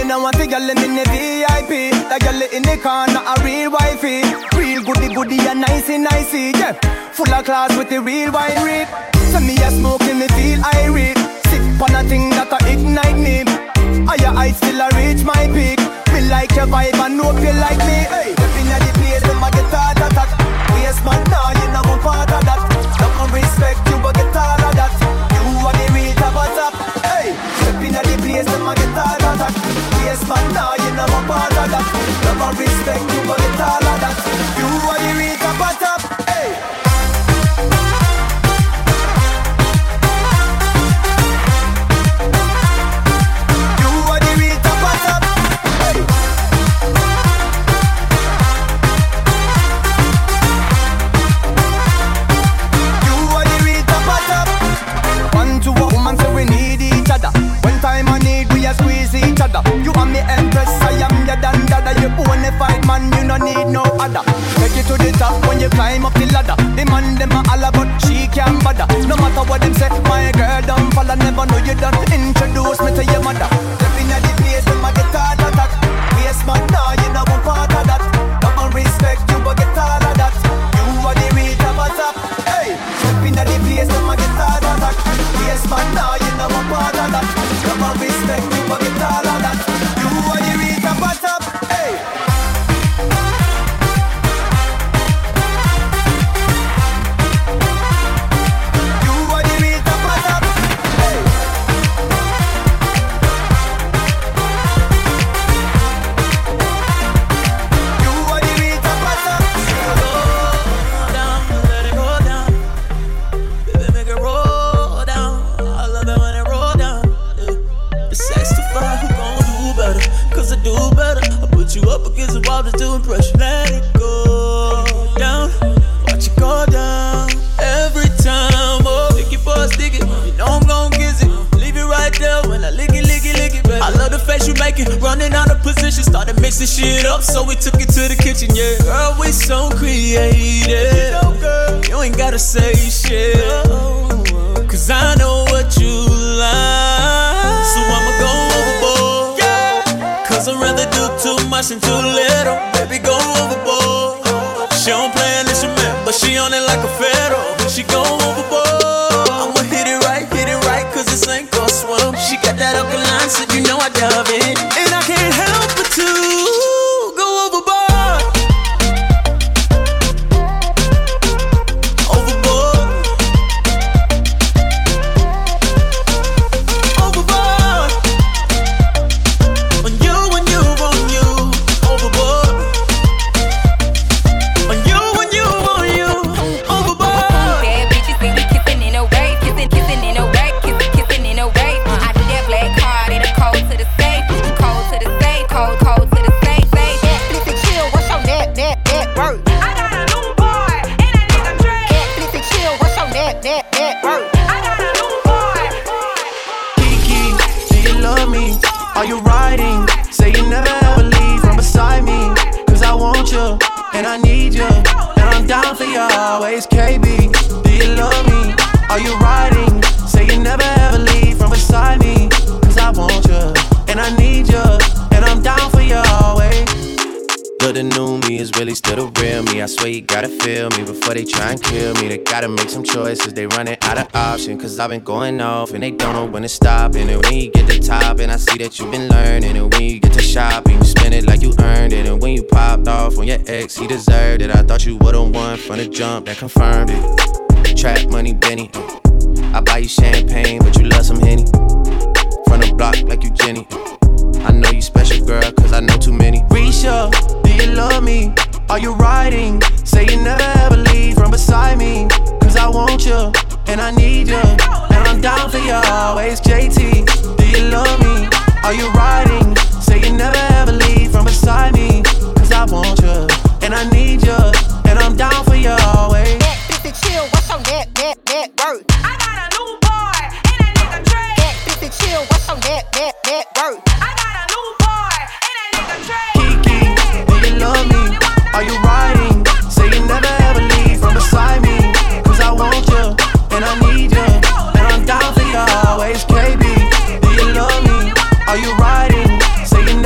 You know what the girl in the V I P. The girl in the corner, a real wifey. Real goody goody and nicey nicey, yeah. Full of class with the real wine rip. So me a smoking, me feel irate. Sip on a thing that a ignite me. Higher heights still a reach my peak. Me like your vibe and hope you like me. Hey, stepping at the place, them a get hard attack. Yes man, nah, you know one part of that. Don't come respect you, but get all of that. You are the real top of top. Hey, stepping at the place, them a get hard attack. Yes man, nah, you know one part of that. Don't come respect you, but get all of that. You are the real top of top. Hey. You and me empress, I am your dandada. You only fight man, you no need no other. Take it to the top when you climb up the ladder. The man them a holla but she can't bother. No matter what them say, my girl don't fall. I never know you done introduce me to your mother. Stepping at the place, them a get hard attack. Yes man, nah, you know one part of that. Come on respect you, but get all of that. You are the real top of top. Hey, stepping at the place, them a get hard attack. Yes man, nah, you know one part of that. Come on respect you, but get all of that. You are the real top of top. Hey. You up against the wall just to impress you. Let it go down, watch it go down every time. Oh, stick it for a stick it, you know I'm gon' kiss it. Leave it right there when I lick it, lick it, lick it, baby. I love the face you make it, running out of position, started mixing shit up, so we took it to the kitchen. Yeah, girl, we so creative. You know, girl, you ain't gotta say shit, cause I know what you like, so I'ma go overboard. Cause I'd rather do too much than too little. Baby, go overboard. She don't play an instrument, but she on it like a fiddle. She go overboard. I'ma hit it right, hit it right, cause this ain't gon' swim. She got that alkaline, so you know I love it. And I can't help but to go overboard. Overboard. Overboard. On you, on you, on you. Overboard. On you, on you, on you. Overboard. Bad bitches think we kissing in a way, kissing, kissing in a way, kissing, kissing in a way. I do that black card in a cold to the safe, cold to the safe, cold, cold to the safe, safe. Netflix and chill, what's your net, net, net worth? I got a new boy and a nigga Drake. Netflix and chill, what's your net, net, net worth? I got a new boy. Kiki, do you love me? Are you riding? Say you never ever leave from beside me. Cause I want you, and I need you, and I'm down for you always. K B, do you love me? Are you riding? Say you never ever leave from beside me. Cause I want you, and I need you, and I'm down for you always. But the new me is really still the real me. I swear you gotta feel me before they try and kill me. They gotta make some choices, they running out of options. Cause I've been going off and they don't know when to stop. And when you get to top, and I see that you've been learning. And when you get to shopping, you spend it like you earned it. And when you popped off on your ex, he deserved it. I thought you would've won from the jump, that confirmed it. Trap money, Benny. I buy you champagne, but you love some Henny. From the block like you Jenny. I know you special, girl, cause I know too many. Risha, do you love me? Are you riding? Say you never ever leave from beside me. Cause I want you, and I need you, and I'm down for you always. J T, do you love me? Are you riding? Say you never ever leave from beside me. Cause I want you, and I need you, and I'm down for you always. Netflix and chill, what's your net, net, net worth? I got a new boy and a nigga Drake. Netflix and chill, what's your net, net, net worth? I got a new boy and a nigga Drake. Kiki, do you love me? Are you riding? Say you never ever leave from beside me. Cause I want you, and I need you, and I'm down for you always. K B, do you love me? Are you riding? Say you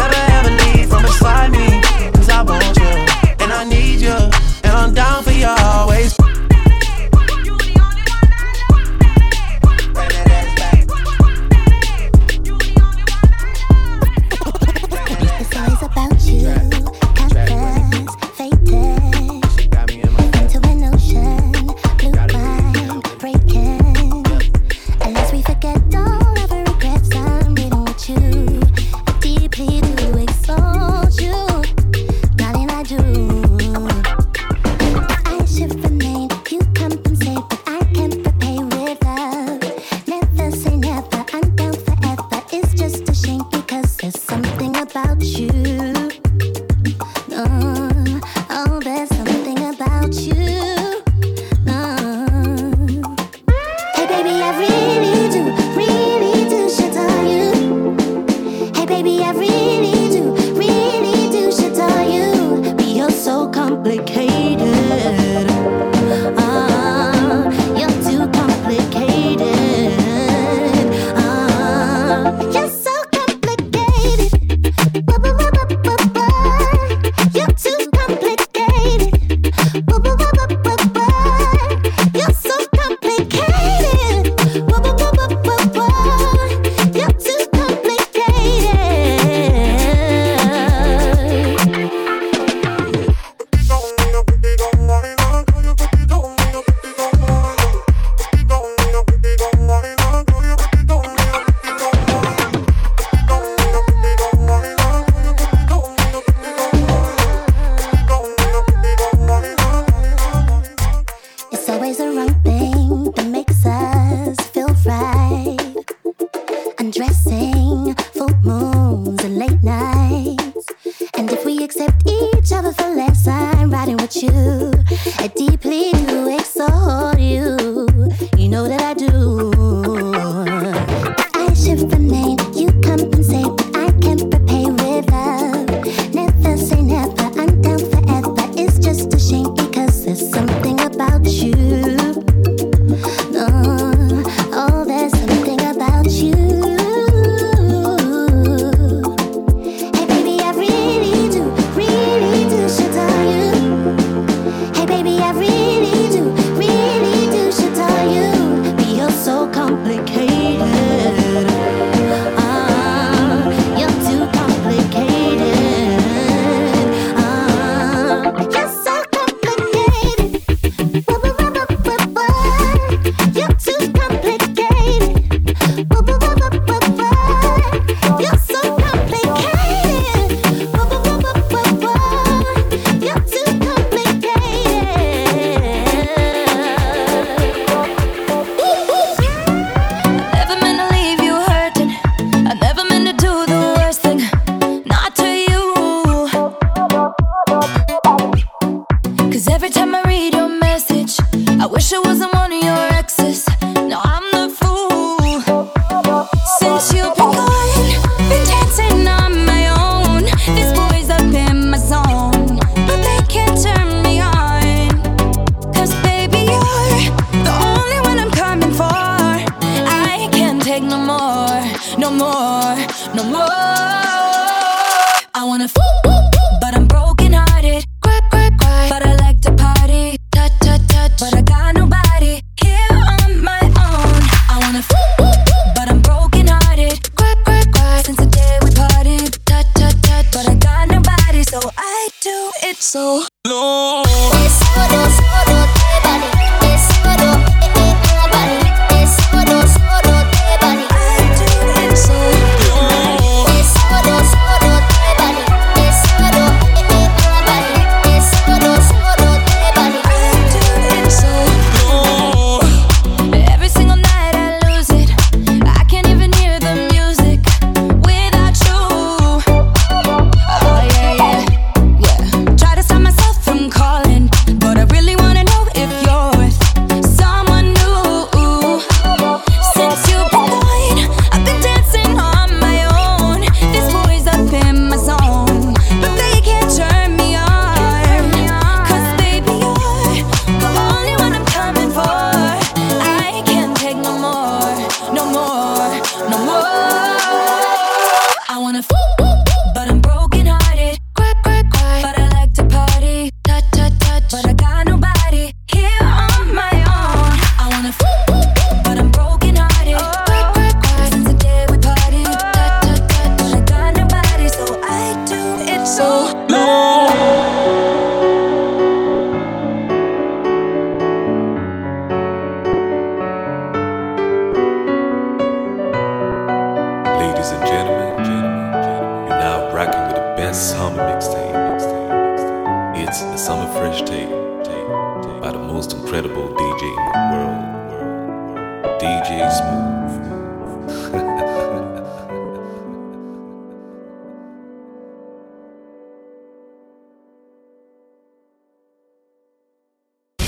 incredible D J in the world, D J Smooth.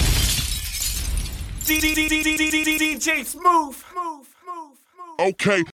D J Smooth. Okay,